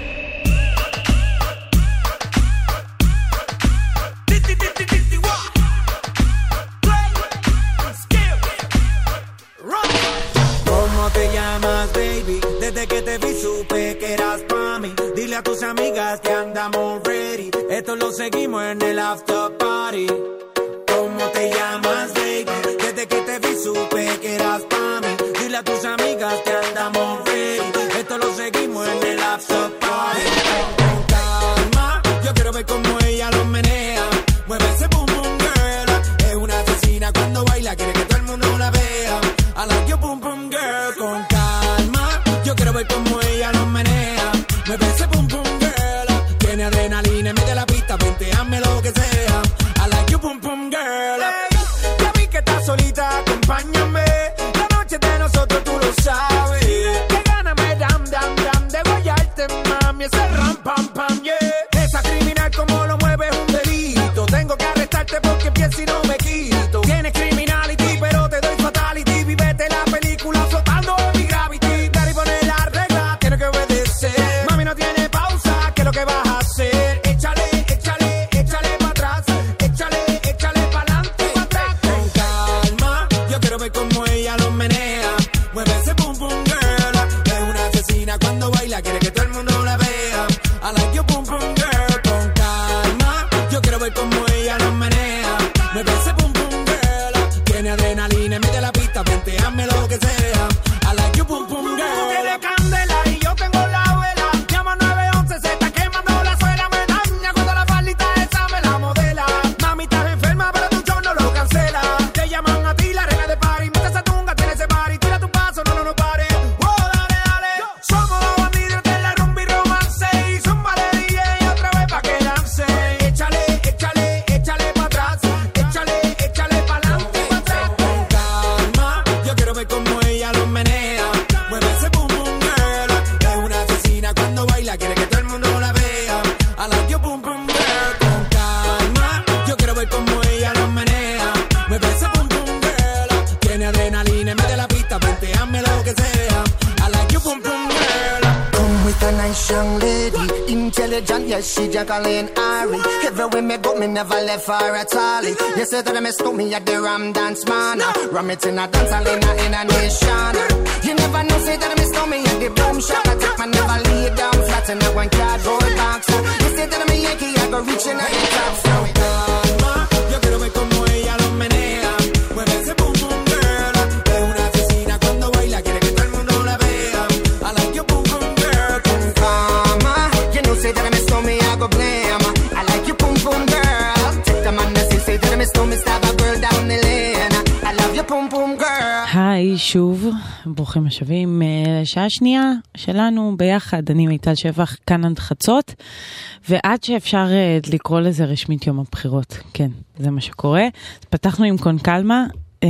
¿Cómo te llamas, baby? Desde que te vi supe que eras pa' mí. Dile a tus amigas que andamos ready. Esto lo seguimos en el after party. ¿Cómo te llamas, baby? Desde que te vi supe que eras pa' mí. Dile a tus amigas que andamos ready. Esto lo seguimos en el after party. Con calma, yo quiero ver cómo ella lo menea. Mueve ese boom boom girl. Es una asesina cuando baila, quiere que todo el mundo la vea. I like your boom boom girl. Con calma, yo quiero ver cómo ella lo menea. Mueve ese boom boom girl. Tiene adrenalina en medio de la pista, venteame lo que sea. I like your boom boom girl. Hey, ya vi que estás solita, acompáñame. La noche de nosotros tú lo sabes. Que gana me dam dam dam de guayarte, mami. Ese ram pam pam yeah. Esa criminal como lo mueve es un delito. Tengo que arrestarte porque pienso y no me quito. Tienes criminality pero te doy fatality. Vivete la película flotando en mi gravity. Dar y poner la regla, tiene que obedecer. Mami no tiene pausa, ¿qué es lo que vas a hacer? Échale, échale, échale pa' atrás. Échale, échale pa'lante y pa' atrás. Con calma, yo quiero ver cómo ella lo menea. Mueve ese boom boom girl. Es una asesina cuando baila, quiere que todo el mundo la vea. I like your boom boom girl. Con calma, yo quiero ver cómo ella lo menea. Mueve ese boom boom girl. Tiene adrenalina en medio de la pista, venteame lo que sea. I like your boom boom girl. Tú tienes candela y yo tengo la vela. Llama nueve once, se está quemando la suela. Me daña cuando la faldita esa me la modela. Mami, estás enferma, pero tu show no lo cancela. Te llaman a ti la reina de party. Mete esa tunga, tiene ese party. Tira tu paso, no, no, no pare. Oh, dale, dale. Somos los bandidos de la rumba y romance. Y zumba de D J otra vez pa' que lance. Échale, échale, échale pa' atrás. Échale, échale pa'lante y pa' atrás. Con calma, yo quiero ver cómo ella lo menea. Mueve ese boom boom girl. Es una asesina cuando baila, quiere que todo el mundo la vea. I like your boom boom girl. Con calma, yo quiero ver cómo ella lo menea. Mueve ese boom boom girl. Tiene adrenalina en medio de la pista, venteame lo que sea. I like your boom boom girl. Come with a nice young lady, intelligent, yes, she Jacqueline Ari. Everywhere me go, me never left her at all. You say that I miss me at the Ram Dance Man. Ram it in a dance hall in a, in a nation. You never know, say that I miss me at the Boom Shop. I take my never lay down flat in a one cardboard box. You say that I'm a Yankee, I go reaching at the top. So Calma, yo quiero ver cómo ella lo menea. Mueve ese boom boom girl. Es una asesina cuando baila, quiere que todo el mundo la vea. I like your boom boom girl. Con Mama, you know, say that I miss me, I go blame. I like you, boom boom girl. Take the man that say, say that I miss me, stab a girl down the lane. I love you, boom boom girl. היי, שוב, ברוכים השבים לשעה השנייה שלנו ביחד. אני מיטל שבח, כאן עד חצות, ועד שאפשר לקרוא לזה רשמית יום הבחירות. כן, זה מה שקורה. אז פתחנו עם קון קלמה.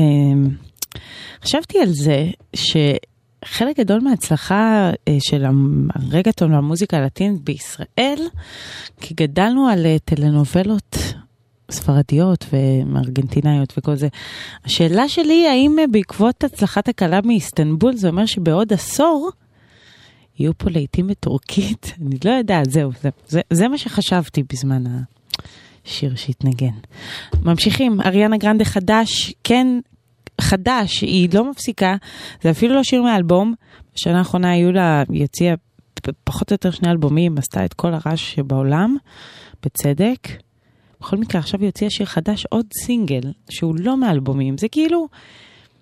חשבתי על זה שחלק גדול מההצלחה של הרגטון והמוזיקה הלטינית בישראל, כי גדלנו על טלנובלות ספרדיות וארגנטינאיות וכל זה. השאלה שלי, האם בעקבות הצלחת הקלה מאיסטנבול, זה אומר שבעוד עשור יהיו פה לעיתים בטורקית? אני לא יודעת, זהו, זה, זה, זה מה שחשבתי בזמן השיר שהתנגן. ממשיכים, אריאנה גרנדה חדש, כן, חדש, היא לא מפסיקה, זה אפילו לא שיר מאלבום, בשנה האחרונה היו לה, יציאה פחות או יותר שני אלבומים, עשתה את כל הרעש שבעולם, בצדק. בכל מקרה, עכשיו יוציא שיר חדש, עוד סינגל, שהוא לא מאלבומים. זה כאילו,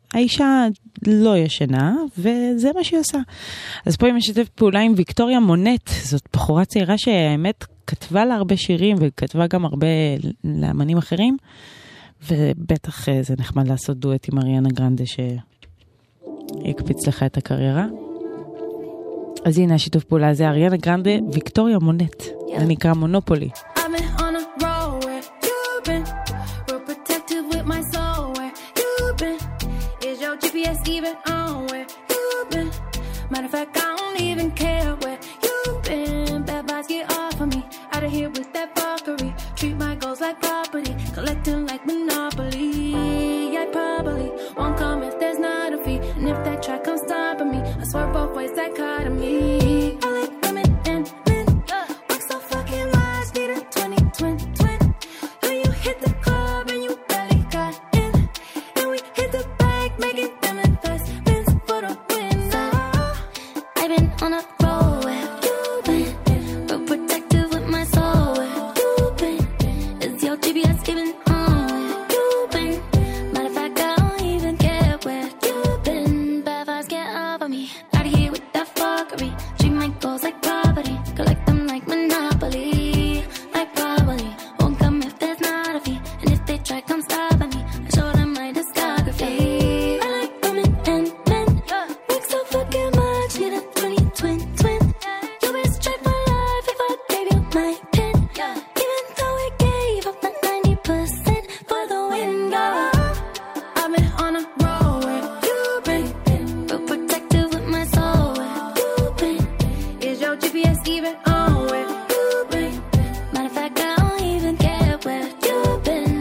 האישה לא ישנה, וזה מה שהיא עושה. אז פה היא משתפת פעולה עם ויקטוריה מונט, זאת בחורה צעירה שהאמת כתבה לה הרבה שירים, וכתבה גם הרבה לאמנים אחרים, ובטח זה נחמד לעשות דואט עם אריאנה גרנדה, שיקפיץ לך את הקריירה. אז הנה השיתוף פעולה הזה, אריאנה גרנדה, ויקטוריה מונט, זה נקרא מונופולי. I've been on a roll where you've been, real protective with my soul where you've been. Is your G P S even on where you've been? Matter of fact, I don't even care where you've been. Bad vibes get off of me, out of here with that fuckery. Treat my goals like property, collecting like Monopoly. I probably won't come if there's not a fee, and if that track comes stopping me, I swear both ways dichotomy. I like women and men, work so fucking much, need a twenty, twenty, twenty. When you hit the club and you barely got in, and we hit the bag, making them investments for the win. So, I've been on a roll where you've been, real protective with my soul where you've been. Is your G P S even on where you've been? Matter of fact, I don't even care where you've been. Bad vibes get off of me, out of here with that fuckery. Treat my goals like property, collect them like Monopoly. Like probably won't come if there's not a fee, and if they try come stopping me, I show them my discography. I like women and men, work so fucking much, need a twenty, twenty, twenty. You best check my life if I gave you my pen, even though I gave up my ninety percent for the win. Girl, I've been on a roll where you've been, real protective with my soul where you've been. Is your G P S even on where you've been? Matter of fact, I don't even care where you've been.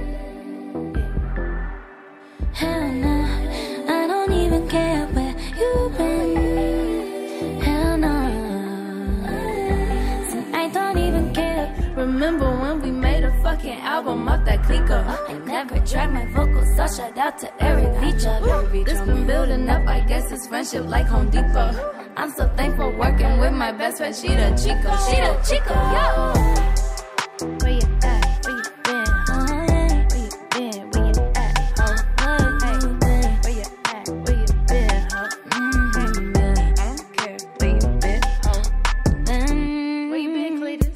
Hell no, I don't even care where you've been. Hell no, so I don't even care. Remember when we made a fucking album off that clicker? I never tracked my vocals, so shout out to Eric Feature. This been building up, I guess it's friendship like Home Depot. I'm so thankful working with my best friend, she the Chico, she the Chico, yo. Where you at? Where you been? Where you been? Where you at? Huh? Hey, where you at? Where you been? Huh? Mm-hmm. I don't care where you been. Huh? Where you been, Cletus?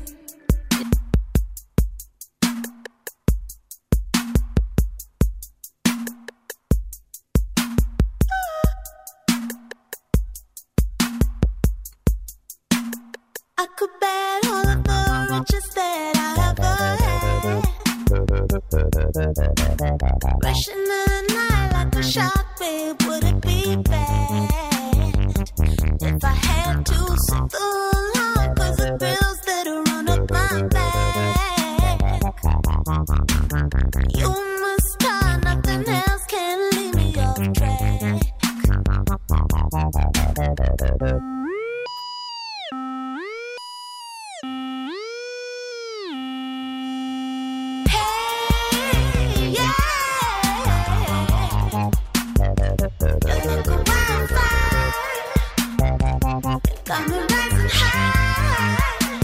I could bet all of the riches that I ever had. Rushing in the night like a shark, babe, would it be bad if I had to sit the line? Cause the bills that'll run up my back. You must start, nothing else can leave me off track. Hey, yeah. You look a wildfire, got me rising high.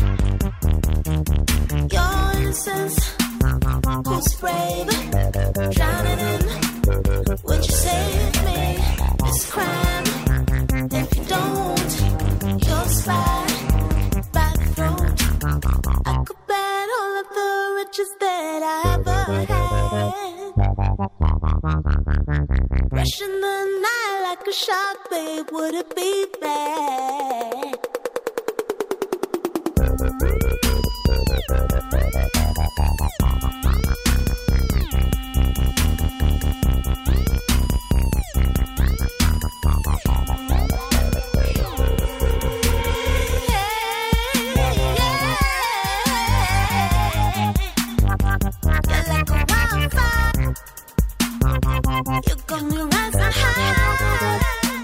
Your innocence, who's brave, drowning in. Would you save me this crime? If you don't, you'll slide by the throat. I could bet all of the riches that I ever had. Rushing the night like a shark, babe, would it be bad? You got me rising high.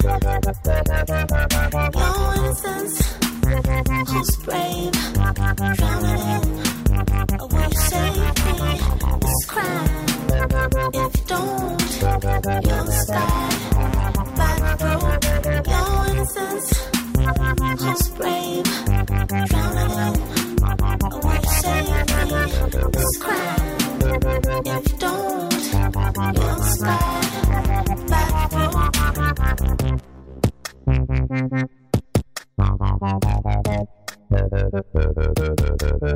Your innocence, who's brave, drowning in. Will you save me this crime? If you don't, you'll slide by the road. Your innocence, who's brave, drowning in. Will you save me this crime? If you don't, you'll slide back.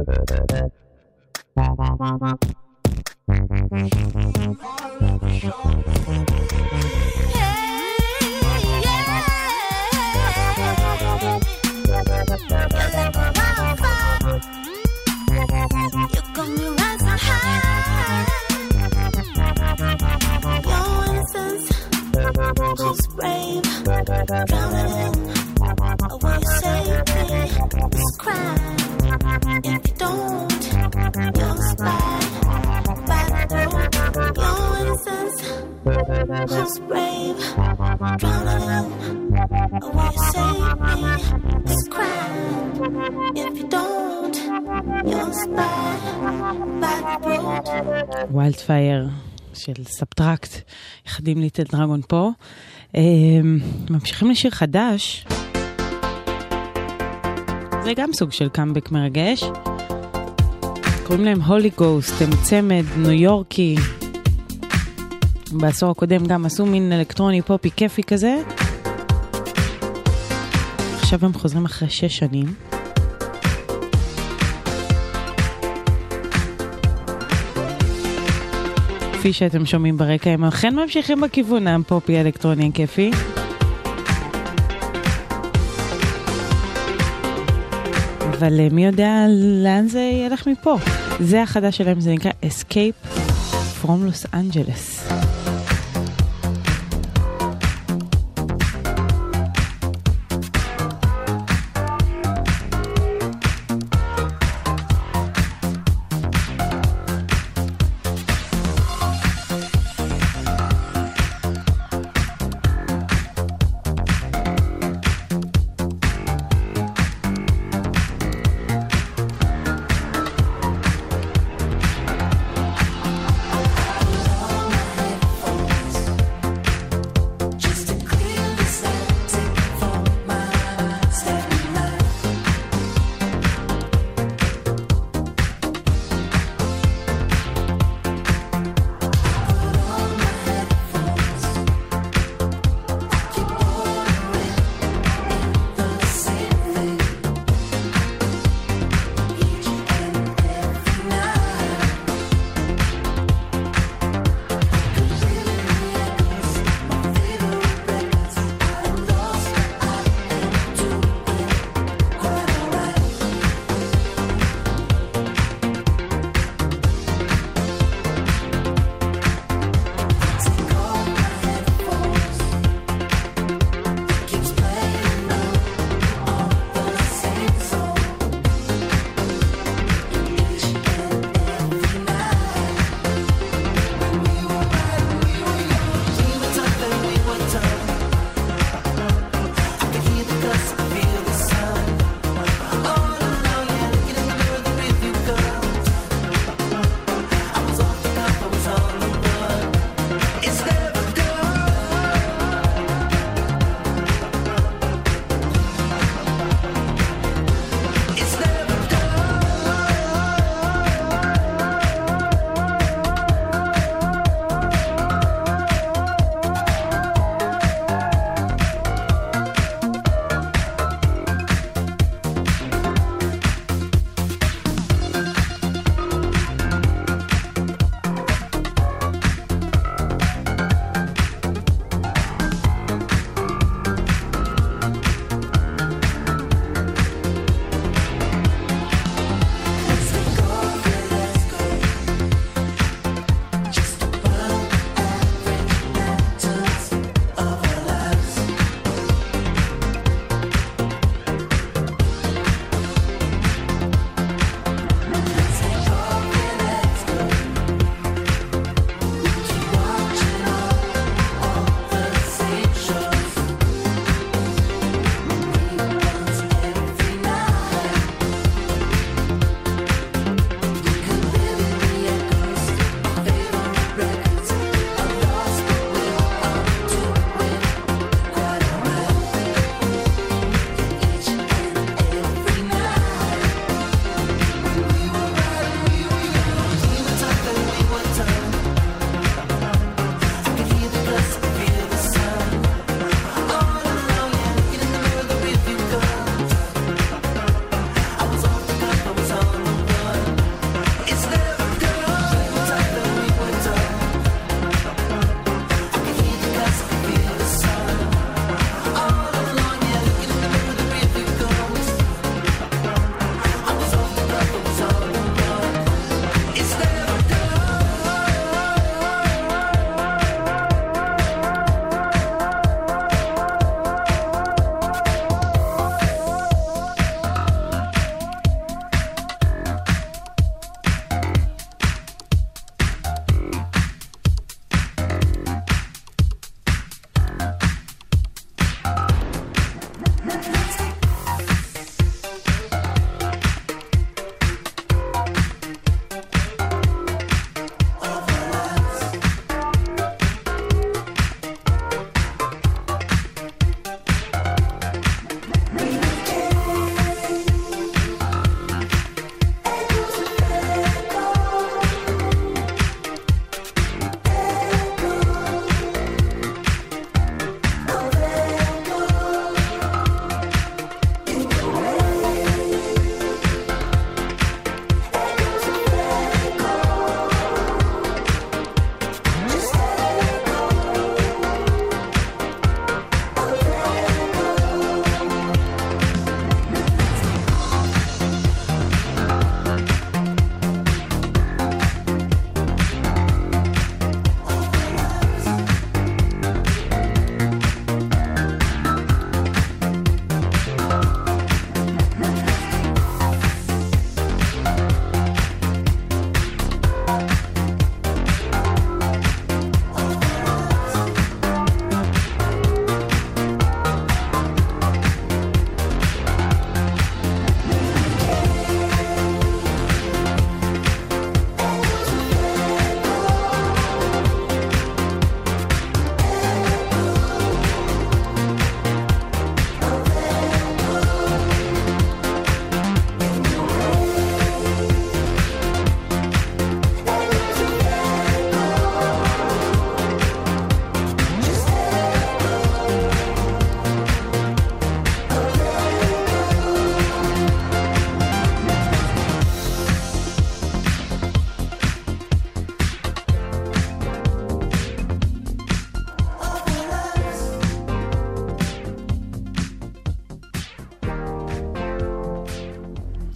Just brave, drowning in a way you save me. It's crime if you don't. You'll spy by the road. Your innocence, just brave, drowning in a way you save me. It's crime if you don't. You'll spy by the road. ויילדפייר של סאבטרקט, יחדים ליטל דרגון פה. ממשיכים לשיר חדש. זה גם סוג של קאמבק מרגש. קוראים להם הולי גוסט, הם צמד ניו יורקי. בעשור הקודם גם עשו מין אלקטרוני פופי כיפי כזה. עכשיו הם חוזרים אחרי שש שנים. כפי שאתם שומעים ברקע, הם אכן ממשיכים בכיוון הפופי האלקטרוני הכיפי. אבל מי יודע לאן זה ילך מפה. זה החדש שלהם, זה נקרא Escape from Los Angeles. All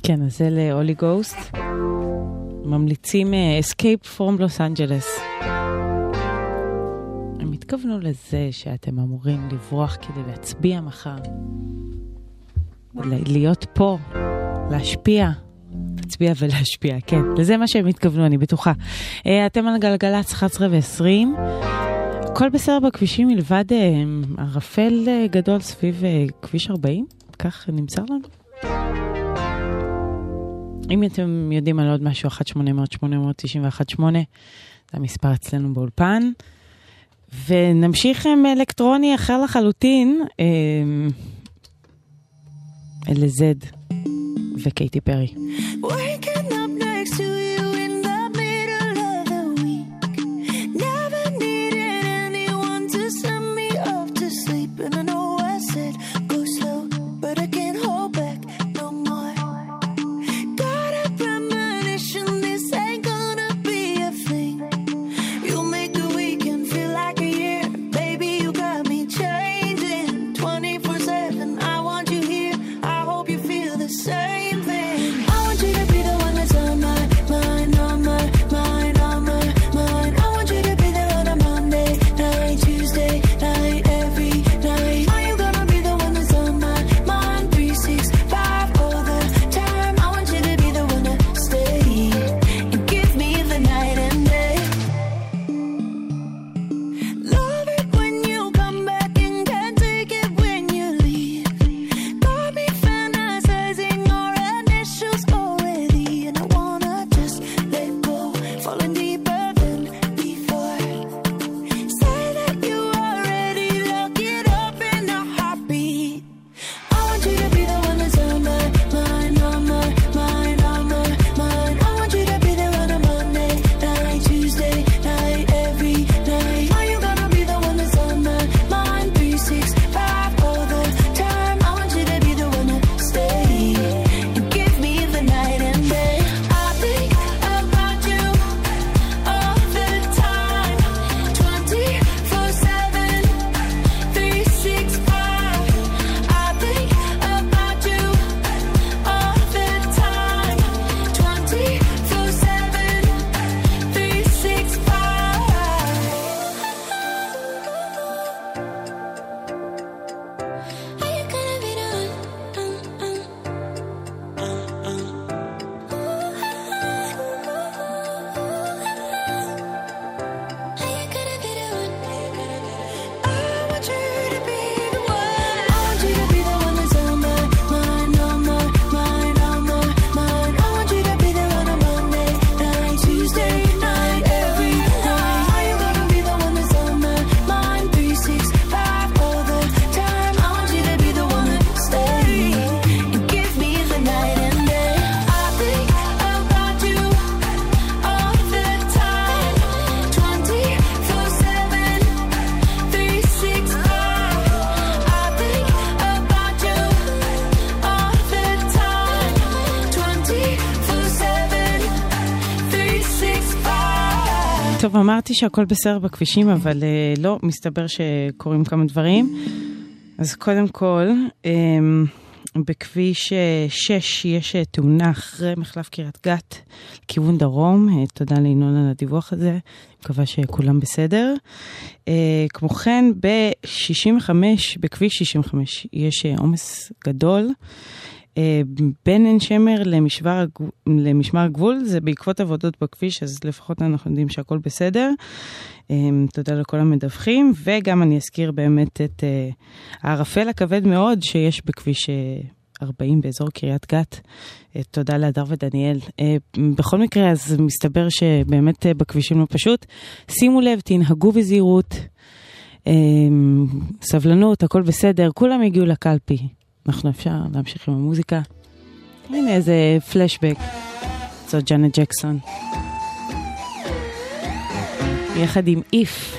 כן, אז זה לאולי גוסט. ממליצים uh, Escape from Los Angeles. הם התכוונו לזה שאתם אמורים לברוח כדי להצביע מחר. להיות פה, להשפיע. להצביע ולהשפיע, כן. לזה מה שהם התכוונו, אני בטוחה. Uh, אתם על גלגלצ אחת עשרה ועשרים. הכל בסדר בכבישים מלבד uh, ערפל uh, גדול סביב uh, כביש ארבעים. כך נמסר לנו. אם אתם יודעים על עוד משהו, אחת שמונה אפס אפס שמונה תשע אחת שמונה, זה המספר אצלנו באולפן. ונמשיך עם אלקטרוני אחר לחלוטין, אלזד וקייטי פרי. Waking up next to you in the middle of the week. Never needed anyone to send me off to sleep. And I know I said go slow, but I can't hold back no more. Got a premonition this ain't gonna be a thing. You make the weekend feel like a year. Baby, you got me changing twenty-four seven. I want you here. I hope you feel the same thing. I want you to be the one that's on my mind, on my mind, on my mind. I want you to be there on a Monday night, Tuesday night, every night. Are you gonna be the one that's on my mind, three six five all the time? I want you to be the one to stay and give me the night and day. Love it when you come back and can't take it when you leave. Got me fantasizing our initials already, and I wanna just let go, falling deeper than before. Say that you are ready, lock it up in a heartbeat. I want you to be the one that's on my mind, on my mind, on my mind. I want you to be there on a Monday night, Tuesday night, every night. Are you gonna be the one that's on my mind, three six five all the time? I want you to be the one to stay and give me the night and day. I think about you all the time, twenty-four seven, three six five. I think about you all the time, twenty-four seven, three six five. Are you gonna be the one? Are you gonna be the one? I want you to be the one. I want you to be the one that's on my mind, on my mind, on my mind. I want you to be there on a Monday night, Tuesday night, every night. Are you gonna be the one that's on my mind, three six five all the time? I want you to be the one to stay and give me the night and day. I think about you all the time, twenty-four seven, three six five. I think about you all the time, twenty-four seven, three six five. טוב, אמרתי שהכל בסדר בכבישים, אבל uh, לא, מסתבר שקורים כמה דברים. אז קודם כל, um, בכביש uh, שש יש uh, תאונה אחרי מחלף קריית גת, כיוון דרום. Uh, תודה לינון על הדיווח הזה, אני מקווה שכולם בסדר. Uh, כמו כן, ב-שישים וחמש, בכביש שישים וחמש, יש uh, עומס גדול. Uh, בין עין שמר למשמר, הגב... למשמר הגבול, זה בעקבות עבודות בכביש, אז לפחות אנחנו יודעים שהכל בסדר. Um, תודה לכל המדווחים, וגם אני אזכיר באמת את uh, הערפל הכבד מאוד שיש בכביש uh, ארבעים באזור קריית גת. Uh, תודה להדר ודניאל. Uh, בכל מקרה, אז מסתבר שבאמת uh, בכבישים לא פשוט. שימו לב, תנהגו בזהירות, uh, סבלנות, הכל בסדר, כולם הגיעו לקלפי. אנחנו אפשר להמשיך עם המוזיקה. הנה איזה פלשבק. זאת ג'אנט ג'קסון. יחד עם איף.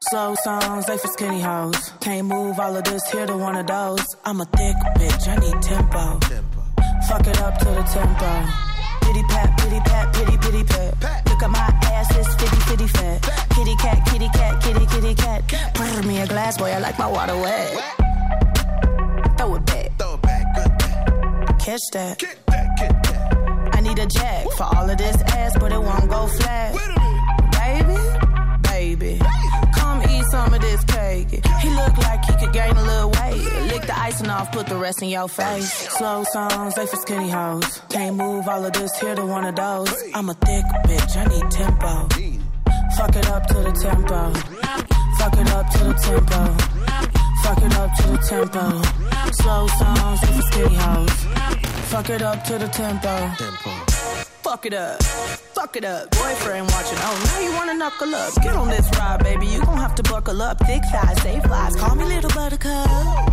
Slow songs, they for skinny hoes. Can't move all of this here to one of those. I'm a thick bitch, I need tempo. Fuck it up to the tempo. Pity pat, pity pat, pity pity pat. Look at my ass, it's fitty fitty fat. Kitty cat, kitty cat, kitty kitty cat. Pour me a glass, boy, I like my water wet. Throw it back, throw it back, good back. Catch that, get that, get that. I need a jack for all of this ass, but it won't go flat. Baby, baby, come eat some of this cake. He look like he could gain a little weight. Lick the icing off, put the rest in your face. Slow songs, they for skinny hoes. Can't move all of this here to one of those. I'm a thick bitch, I need tempo. Fuck it up to the tempo. Fuck it up to the tempo. Fuck it up to the tempo. Slow songs, they for skinny hoes. Fuck it up to the tempo. Fuck it up, fuck it up. Boyfriend watching, oh now you wanna knuckle up. Get on this ride, baby, you gon' have to buckle up. Thick thighs, safe flies, call me little buttercup.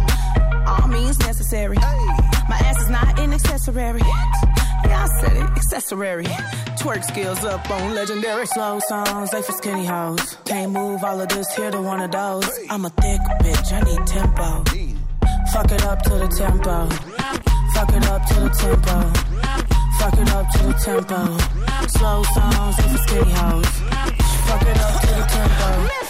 All means necessary. My ass is not an accessory. Yeah, I said it, accessory. Twerk skills up on legendary. Slow songs, they for skinny hoes. Can't move all of this here to one of those. I'm a thick bitch, I need tempo. Fuck it up to the tempo. Fuck it up to the tempo. Fuck it up to the tempo. Slow songs, they for skinny hoes. Fuck it up to the tempo.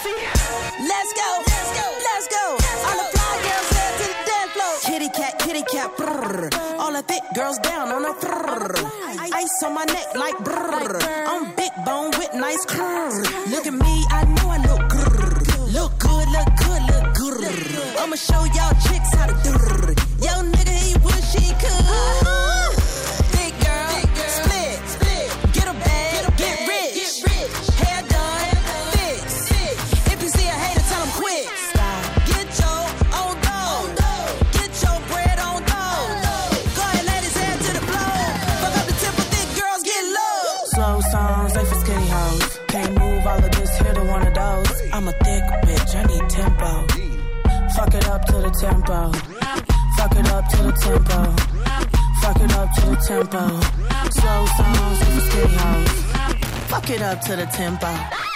Let's go, let's go, let's go. All the fly girls head to the dance floor. Kitty cat, kitty cat, brrr. All the thick girls down on the brrr. Ice on my neck like brrr. I'm big bone with nice curves. Look at me, I know I look grrr. Look good, look good, look good. I'ma show y'all chicks how to do. Yo nigga, he wish he could. Thick girl, split, split. Get a bag, get rich. Hair done, fix. If you see a hater, tell him quit. Get your own dough. Get your bread on dough. Go ahead, ladies, head to the floor. Fuck up the temple, thick girls get low. Slow songs, they for skinny hoes. Can't move all of this here to one of those. I'm a thick bitch, I need tempo. Fuck it up to the tempo. Fuck it up to the tempo. Fuck it up to the tempo. Slow songs with the skinny hoes. Fuck it up to the tempo.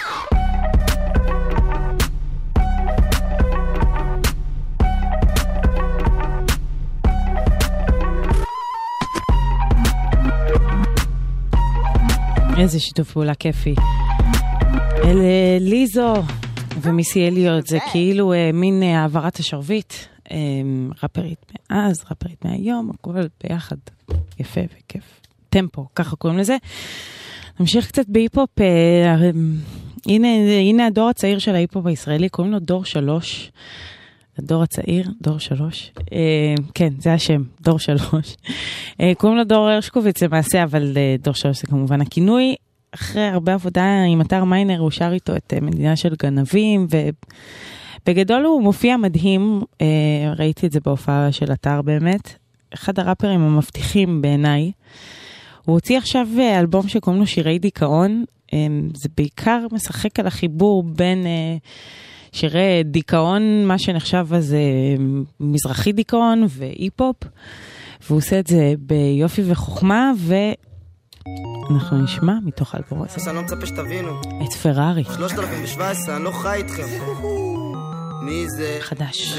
איזה שיתוף פעולה כיפי. אלה ליזו ומיסי אליוט, זה כאילו אה, מין אה, העברת השרביט. אה, רפרית מאז, רפרית מהיום, הכל ביחד. יפה וכיף. טמפו, ככה קוראים לזה. נמשיך קצת בהיפופ. אה, אה, הנה, הנה הדור הצעיר של ההיפופ הישראלי, קוראים לו דור שלוש. הדור הצעיר, דור שלוש. אה, כן, זה השם, דור שלוש. אה, קוראים לו דור הרשקוביץ למעשה, אבל אה, דור שלוש זה כמובן הכינוי. אחרי הרבה עבודה עם אתר מיינר, הוא שר איתו את מדינה של גנבים, ובגדול הוא מופיע מדהים, ראיתי את זה בהופעה של אתר באמת, אחד הראפרים המבטיחים בעיניי, הוא הוציא עכשיו אלבום שקוראים לו שירי דיכאון, זה בעיקר משחק על החיבור בין שירי דיכאון, מה שנחשב אז מזרחי דיכאון ואי-פופ, והוא עושה את זה ביופי וחוכמה, ו... אנחנו נשמע מתוך האלבום הזה. אני לא מצפה שתבינו. את פרארי. שלושת אלפים שבע עשרה, אני לא חי איתכם. מי זה? חדש.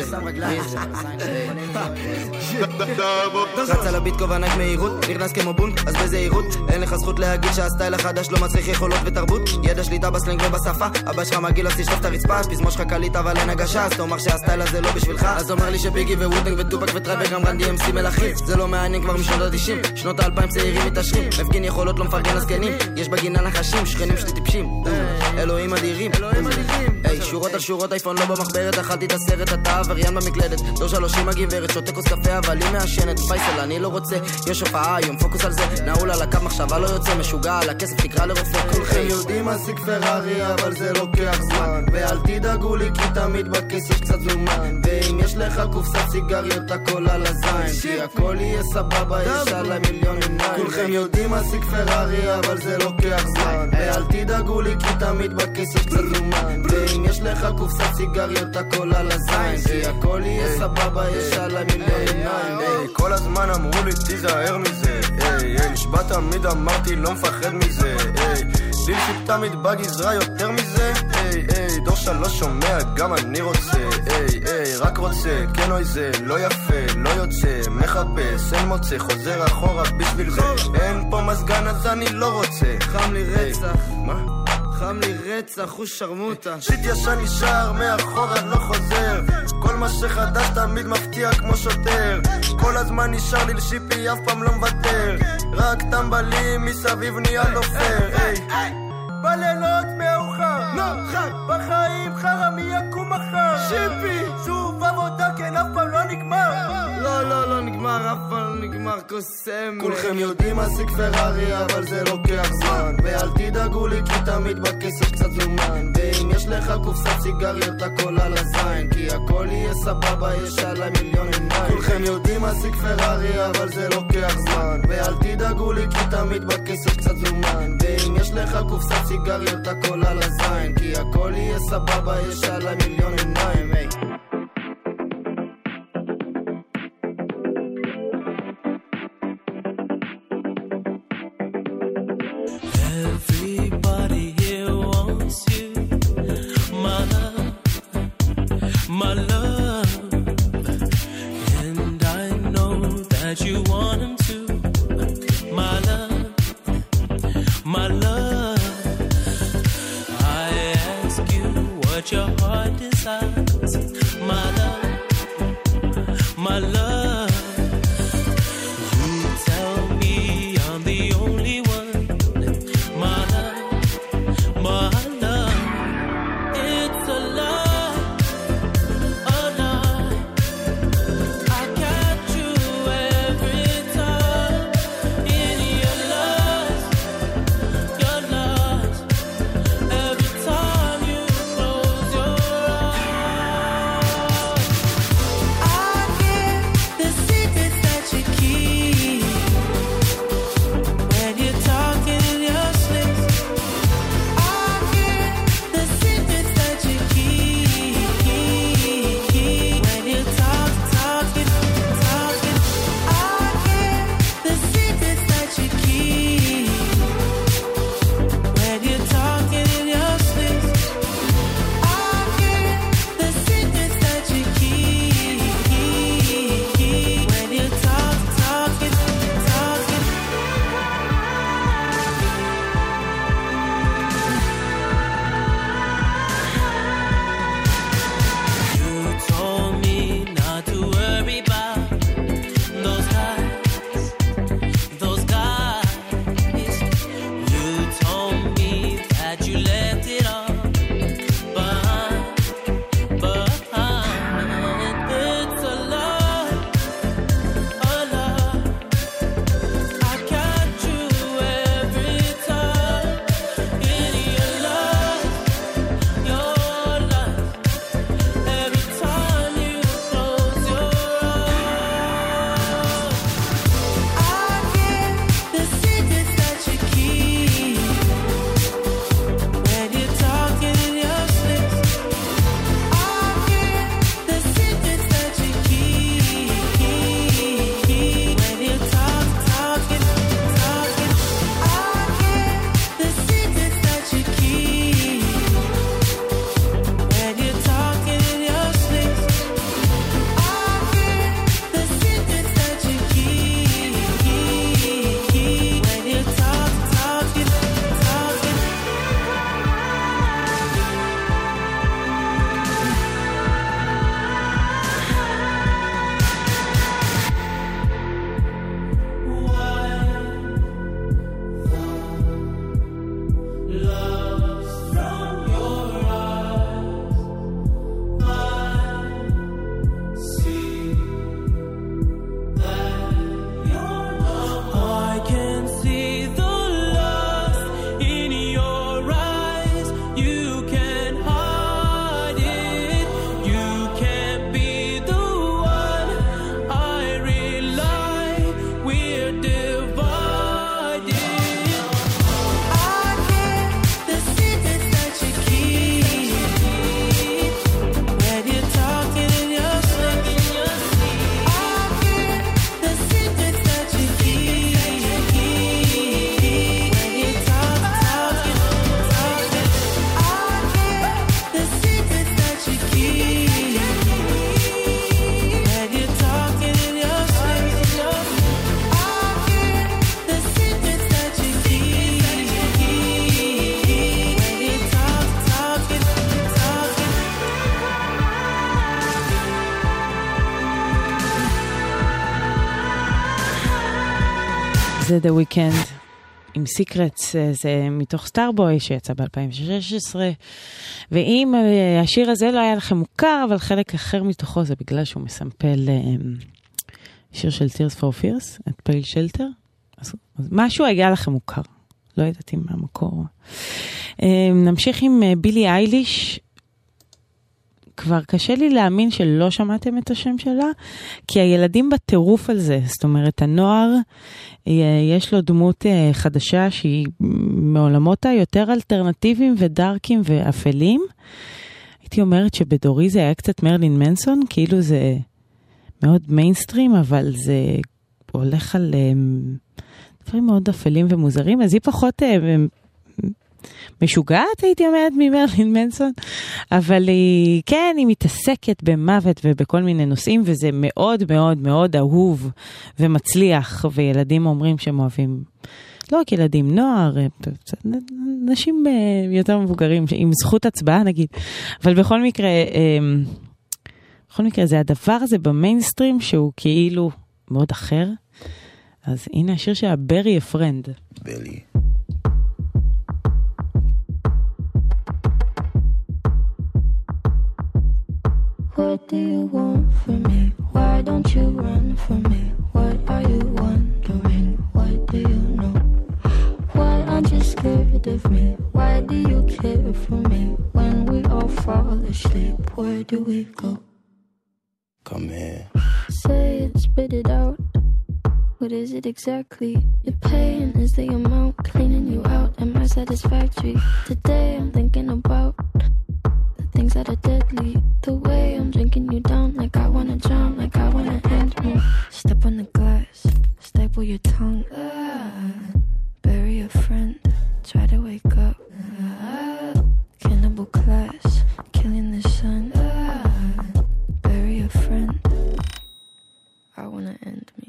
רץ על הביט כובענק מהירות, נכנס כמו בונק, אז בזהירות. אין לך זכות להגיד שהסטייל החדש לא מצריך יכולות ותרבות. ידע שליטה בסלנג ובשפה, אבא שלך מגיל אז תשטוף את הרצפה. פזמו שלך קליט אבל אין הגשה, אז תאמר שהסטייל הזה לא בשבילך. אז אומר לי שביגי וווטנג וטופק וטרייב וגם רנדי אמסי מלכים. זה לא מעניין כבר משנות ה-תשעים, שנות ה-אלפיים צעירים מתעשרים. מפגין יכולות לא מפרגן לזקנים, יש בגינה נחשים, שכנים שלי טיפשים. אלוהים אדירים, היי, שורות על שורות, אייפון לא במחברת, אכלתי את הסרט, אתה עבריין במקלדת. דור שלושים הגברת, שותה כוס קפה אבל היא מעשנת. פייסל אני לא רוצה, יש הופעה היום, פוקוס על זה. נעול על הקו, מחשבה לא יוצא, משוגע על הכסף, תקרא לרופא. כולכם יודעים להשיג פרארי אבל זה לוקח זמן, ואל תדאגו לי כי תמיד בכיס יש קצת זומן, ואם יש לך קופסת סיגריות הכל על הזין, כי הכל יהיה סבבה, יש עליי מיליון עיניים. כולכם יודעים להשיג פרארי אבל זה לוקח זמן, ואל תדאגו לי כי תמיד בכיס יש קצת זומן, ואם יש לך קופסת סיגריות הכל על הזין, כי הכל יהיה סבבה, יש עליי מיליון עיניים. כל הזמן אמרו לי תיזהר מזה, נשבע תמיד אמרתי לא מפחד מזה, ליפשיפ תמיד בגזרה יותר מזה. היי היי דור שלוש שומע גם אני רוצה. היי היי רק רוצה כן אוי זה לא יפה לא יוצא מחפש אין מוצא חוזר אחורה בשביל זה אין פה מזגן אז אני לא רוצה. חם לי רצח. מה? חם לי רצח, הוא שרמוטה. שיט ישן נשאר, מאחורה לא חוזר. כל מה שחדש תמיד מפתיע כמו שוטר. כל הזמן נשאר לי לשיפי, אף פעם לא מוותר. רק טמבלים מסביב נהיה לא פייר. בלילות מאוחר, חד בחיים חרא מי יקום מחר. שיפי, שוב עבודה כן אף פעם לא נגמר. לא לא לא נגמר, אף פעם לא נגמר קוסם. כולכם יודעים להשיג פרארי אבל זה לוקח זמן. ואל תדאגו לי כי תמיד בכסף קצת זומן. ואם יש לך קופסת סיגריות הכל על הזין, כי הכל יהיה סבבה יש עליי מיליון עיניים. כולכם יודעים להשיג פרארי אבל זה לוקח זמן. ואל תדאגו לי כי תמיד בכסף קצת זומן. ואם יש לך קופסת סיגריות הכל על הזין, כי הכל יהיה סבבה יש עליי מיליון עיניים. היי Everybody here wants you, my love, my love. And I know that you want him to, my love, my love. I ask you what your heart desires. זה The Weeknd עם Secrets, זה מתוך סטארבוי שיצא ב-אלפיים ושש עשרה, ואם השיר הזה לא היה לכם מוכר, אבל חלק אחר מתוכו זה בגלל שהוא מסמפל שיר של Tears for Fears, את פייל שלטר, אז משהו היה לכם מוכר, לא ידעתי מה המקור. נמשיך עם בילי אייליש, כבר קשה לי להאמין שלא שמעתם את השם שלה, כי הילדים בטירוף על זה, זאת אומרת, הנוער, יש לו דמות חדשה שהיא מעולמות היותר אלטרנטיביים ודארקים ואפלים. הייתי אומרת שבדורי זה היה קצת מרלין מנסון, כאילו זה מאוד מיינסטרים, אבל זה הולך על דברים מאוד אפלים ומוזרים, אז היא פחות משוגעת, הייתי אומרת, ממרלין מנסון, אבל היא, כן, היא מתעסקת במוות ובכל מיני נושאים, וזה מאוד מאוד מאוד אהוב ומצליח, וילדים אומרים שהם אוהבים, לא רק ילדים, נוער, נשים יותר מבוגרים, עם זכות הצבעה נגיד, אבל בכל מקרה, בכל מקרה זה הדבר הזה במיינסטרים, שהוא כאילו מאוד אחר, אז הנה השיר שלה, Bury a Friend. בלי. What do you want from me? Why don't you run from me? What are you wondering? What do you know? Why aren't you scared of me? Why do you care for me? When we all fall asleep, where do we go? Come here. Say it, spit it out. What is it exactly? Your pain is the amount cleaning you out. Am I satisfactory? Today I'm thinking about things that are deadly. The way I'm drinking you down, like I wanna drown, like I wanna end me. Step on the glass, staple your tongue. Ah, bury a friend, try to wake up. Ah, cannibal class, killing the sun. Ah, bury a friend. I wanna end me.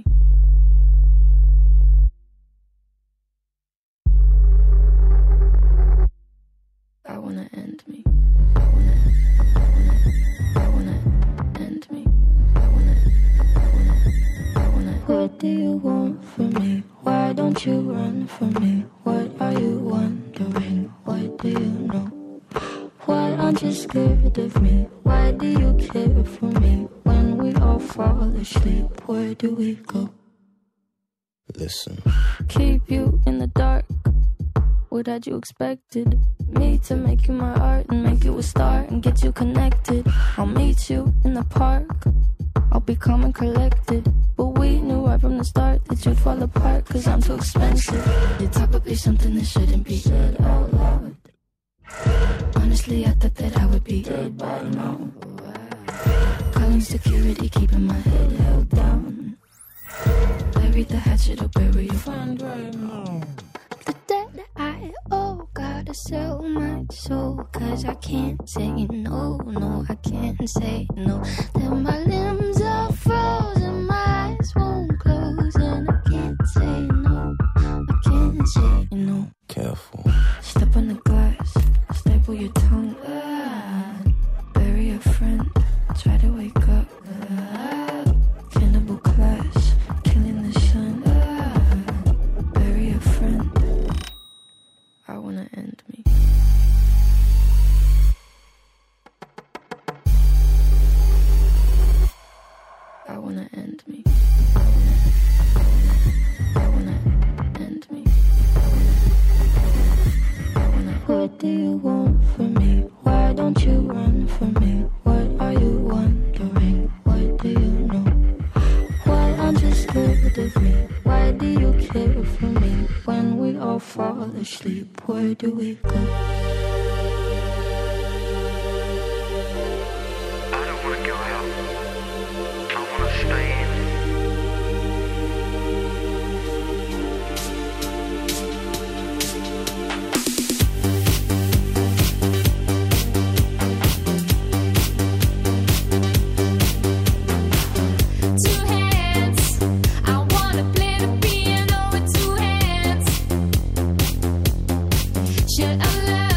I wanna end me. I wanna, I wanna, I wanna end me. I wanna, I wanna, I wanna. What do you want from me? Why don't you run from me? What are you wondering? What do you know? Why aren't you scared of me? Why do you care for me? When we all fall asleep, where do we go? Listen. Keep you in the dark. What had you expected? Me to make you my art and make you a star and get you connected. I'll meet you in the park. I'll be calm and collected. But we knew right from the start that you'd fall apart, cause I'm too expensive. Your talk would be something that shouldn't be said out loud. Honestly, I thought that I would be dead by now. Calling security, keeping my head held down. Bury the hatchet or bury your friend right now. The debt I owe, gotta sell my soul, cause I can't say no, no, I can't say no. Then my limbs are frozen, my eyes won't close, and I can't say no, I can't say no. Careful. Step on the glass, staple your tongue. Ah, bury a friend, try to wake up. Ah, cannibal class, killing the sun. Ah, bury a friend. I wanna end me. I wanna end me. I wanna, I wanna end me. I wanna. What do you want from me? Why don't you run from me? What are you wondering? What do you know? Why aren't you scared of me? Why do you care for me? When we all fall asleep, where do we go? I don't wanna go out. I wanna stay in. Two hands, I wanna play the piano with two hands. Should I love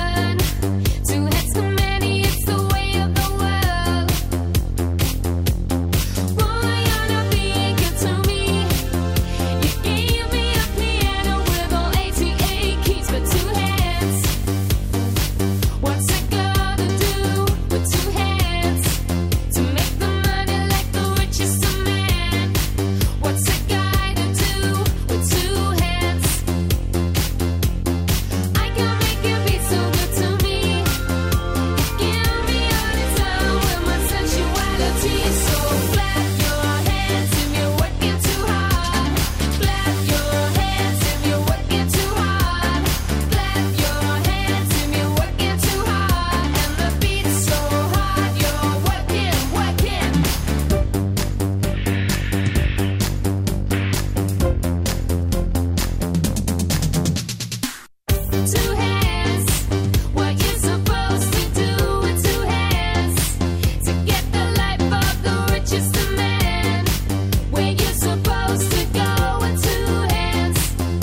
with two hands. What you're supposed to do with two hands. To get the life of the richest of men. Where you're supposed to go with two hands.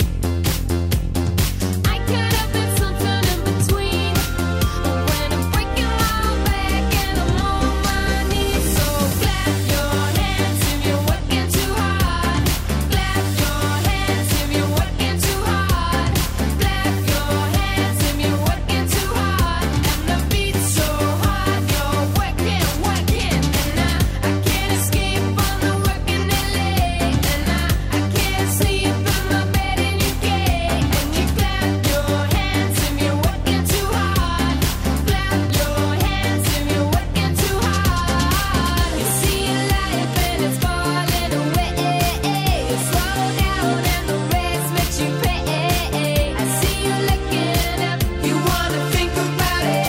I could have been something in between. But when I'm breaking my back and I'm on my knees. So clap your hands if you're working too hard. Clap your hands if you're working too hard. Clap your hands if you're working too hard. And the beat's so hard, you're working, working. And I, I can't escape on the working it late. And I, I can't sleep in my bed in U K. And you clap your hands if you're working too hard. Clap your hands if you're working too hard. You see life and it's falling away. You slow down and the race makes you pay. I see you looking up, you wanna think about it.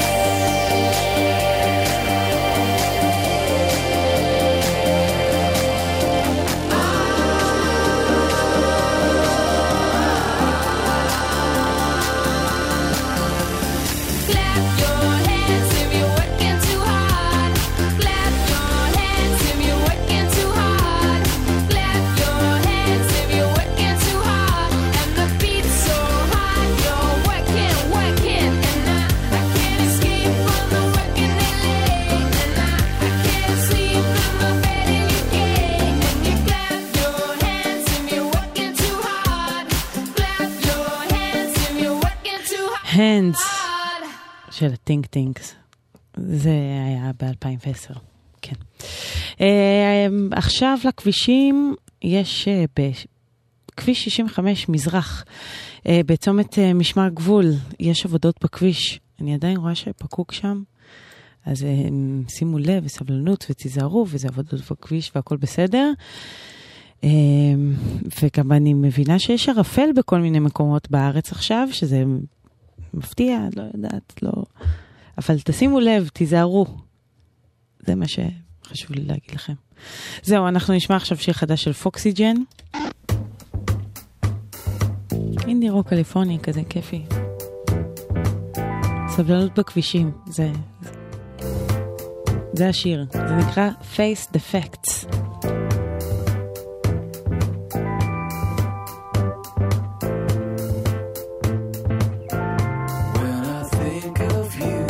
Clap your hands if you're working too hard. Clap your hands if you're working too hard. Clap your hands if you're working too hard. And the beat's so hard, you're working, working. And I, I can't escape from the working it late. And I, I can't sleep in my bed in U K. And you clap your hands if you're working too hard. Clap your hands if you're working too hard. Hands של הטינק טינקס. זה היה ב-אלפיים ועשר. כן. אה, עכשיו לכבישים יש אה, בכביש שישים וחמש מזרח, אה, בצומת אה, משמר גבול, יש עבודות בכביש. אני עדיין רואה שפקוק שם. אז אה, שימו לב וסבלנות ותיזהרו, וזה עבודות בכביש והכל בסדר. אה, וגם אני מבינה שיש ערפל בכל מיני מקומות בארץ עכשיו, שזה מפתיע, לא יודעת, לא. אבל תשימו לב, תיזהרו. זה מה שחשוב לי להגיד לכם. זהו, אנחנו נשמע עכשיו שיר חדש של פוקסיג'ן. אינדי רוק קליפורני, כזה כיפי. סבלנות בכבישים, זה, זה השיר. זה נקרא Face the Facts. When I think of you,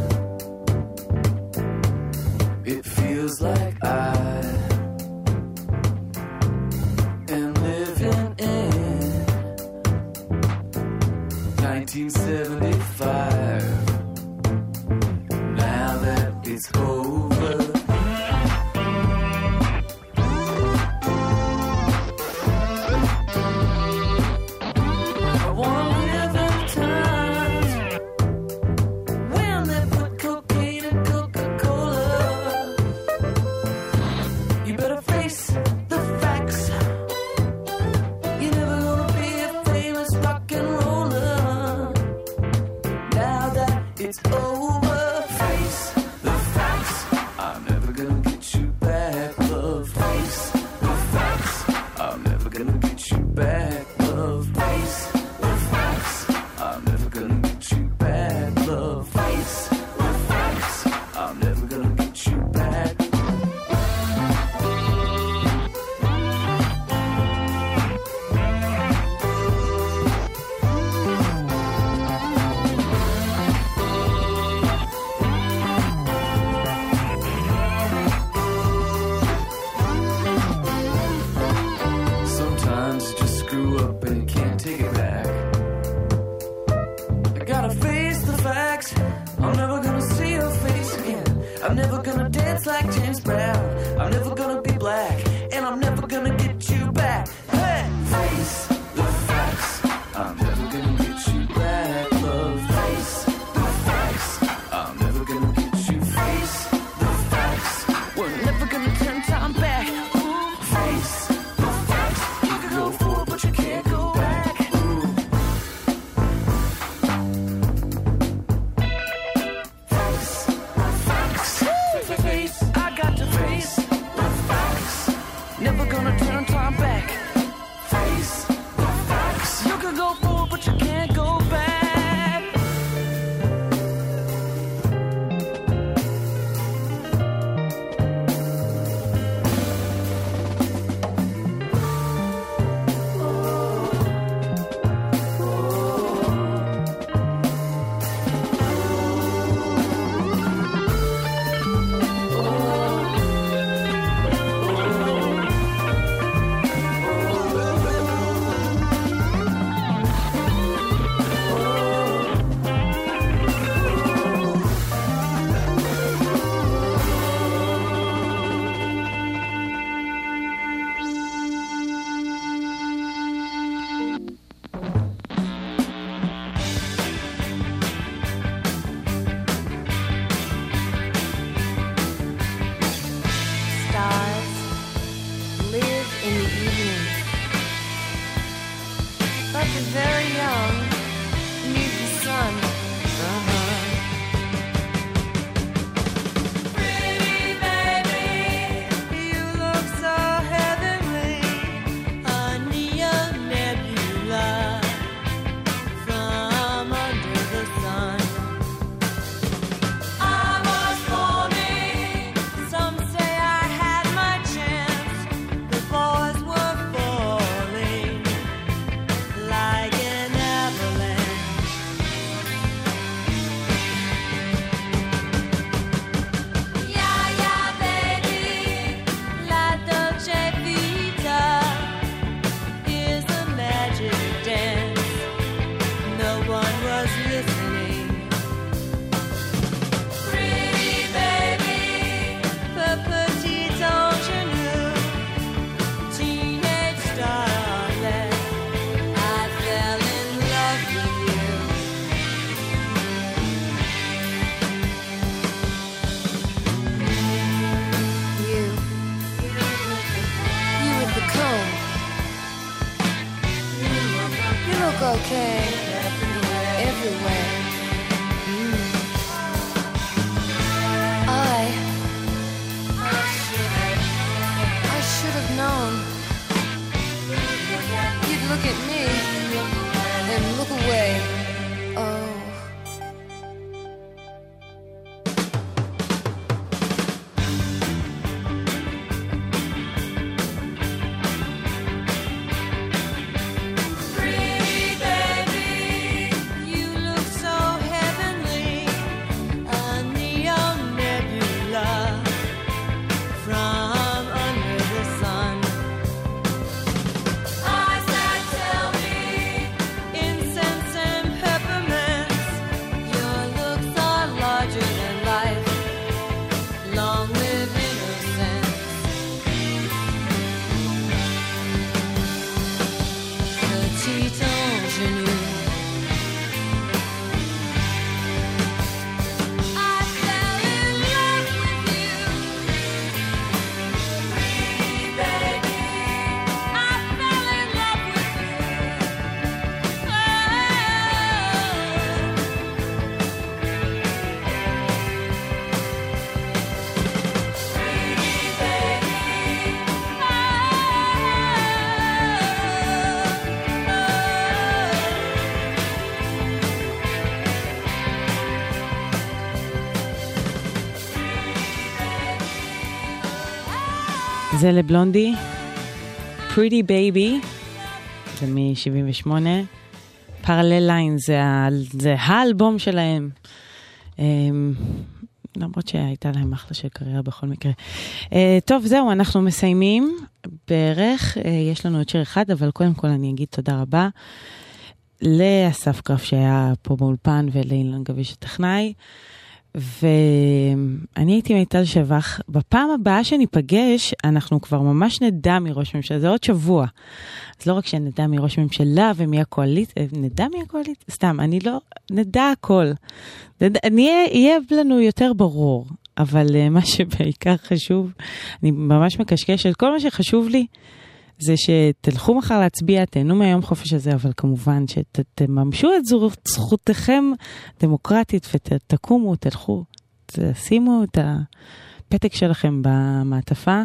it feels like I am living in nineteen seventy-five. Now that it's over, I wanna live in times when they put cocaine in Coca-Cola. You better face the facts. You're never gonna be a famous rock and roller. Now that it's over, face the facts. I'm never gonna get you back, love. Face the facts. I'm never gonna get you back, love. Face the facts. I'm never gonna get you back, love. Face the facts. I'm never gonna get you back. Sometimes you just screw up and you can't take it back. I gotta face the facts. I'm never gonna see your face again. I'm never gonna dance like James Brown. I'm never gonna be black, and I'm never gonna get you back. Hey! Face the facts. I'm never gonna get you back, love. Face the facts. I'm never gonna get you. Face the facts. We're never gonna turn time back. Ooh. Face the facts. You can go forward, but you can't go back. Ooh. Face the facts. Face. I got to face the facts. זה לבלונדי, Pretty Baby, זה מ-שבעים ושמונה, Parallel Lines, זה, ה- זה האלבום שלהם, אמ, למרות שהייתה להם אחלה של קריירה בכל מקרה. אה, טוב, זהו, אנחנו מסיימים בערך, אה, יש לנו עוד שיר אחד, אבל קודם כל אני אגיד תודה רבה לאסף גרף שהיה פה באולפן ולאילן גביש הטכנאי, ואני הייתי מיטל שבח. בפעם הבאה שניפגש, אנחנו כבר ממש נדע מראש ממשלה, זה עוד שבוע. אז לא רק שנדע מראש ממשלה ומי הקואליט, נדע מי הקואליט, סתם, אני לא, נדע הכל. נדע, נהיה, יהיה לנו יותר ברור, אבל uh, מה שבעיקר חשוב, אני ממש מקשקשת, כל מה שחשוב לי, זה שתלכו מחר להצביע, תהנו מהיום חופש הזה, אבל כמובן שתממשו את זכותכם דמוקרטית ותקומו, תלכו, תשימו את הפתק שלכם במעטפה.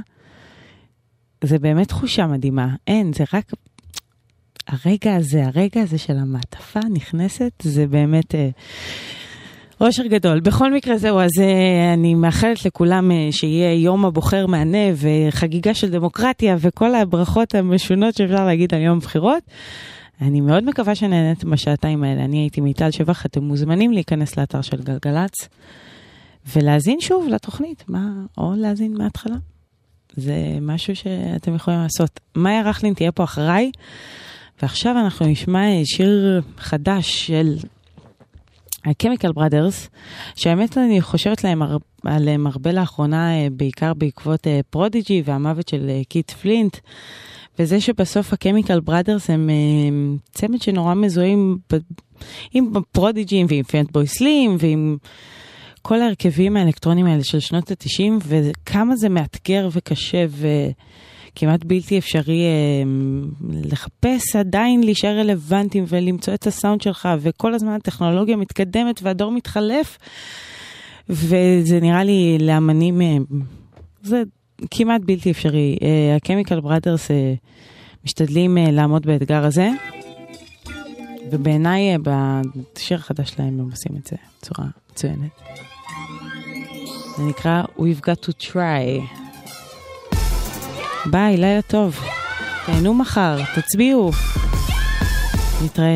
זה באמת תחושה מדהימה. אין, זה רק הרגע הזה, הרגע הזה של המעטפה נכנסת, זה באמת אה, אושר גדול. בכל מקרה זהו, אז אה, אני מאחלת לכולם אה, שיהיה יום הבוחר מענה וחגיגה של דמוקרטיה וכל הברכות המשונות שאפשר להגיד על יום הבחירות. אני מאוד מקווה שנהנית בשעתיים האלה. אני הייתי מיטל שבח, אתם מוזמנים להיכנס לאתר של גלגלץ ולהזין שוב לתוכנית, מה, או להזין מההתחלה. זה משהו שאתם יכולים לעשות. מאיה רכלין תהיה פה אחריי, ועכשיו אנחנו נשמע שיר חדש של ה-Chemical Brothers, שהאמת אני חושבת להם, עליהם הרבה לאחרונה, בעיקר בעקבות פרודיג'י והמוות של קית' פלינט, וזה שבסוף ה-Chemical Brothers הם צמד שנורא מזוהים עם פרודיג'י ועם פנטבוי סלים ועם כל ההרכבים האלקטרונים האלה של שנות ה-תשעים, וכמה זה מאתגר וקשה וכמעט בלתי אפשרי אה, לחפש, עדיין להישאר רלוונטיים ולמצוא את הסאונד שלך, וכל הזמן הטכנולוגיה מתקדמת והדור מתחלף, וזה נראה לי לאמנים, אה, זה כמעט בלתי אפשרי. אה, ה-Chemical Brothers אה, משתדלים אה, לעמוד באתגר הזה, ובעיניי אה, בשיר החדש שלהם הם עושים את זה בצורה מצוינת. זה נקרא We've Got to Try. ביי, לילה טוב. תהנו מחר, תצביעו. נתראה.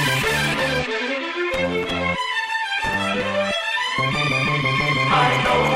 I know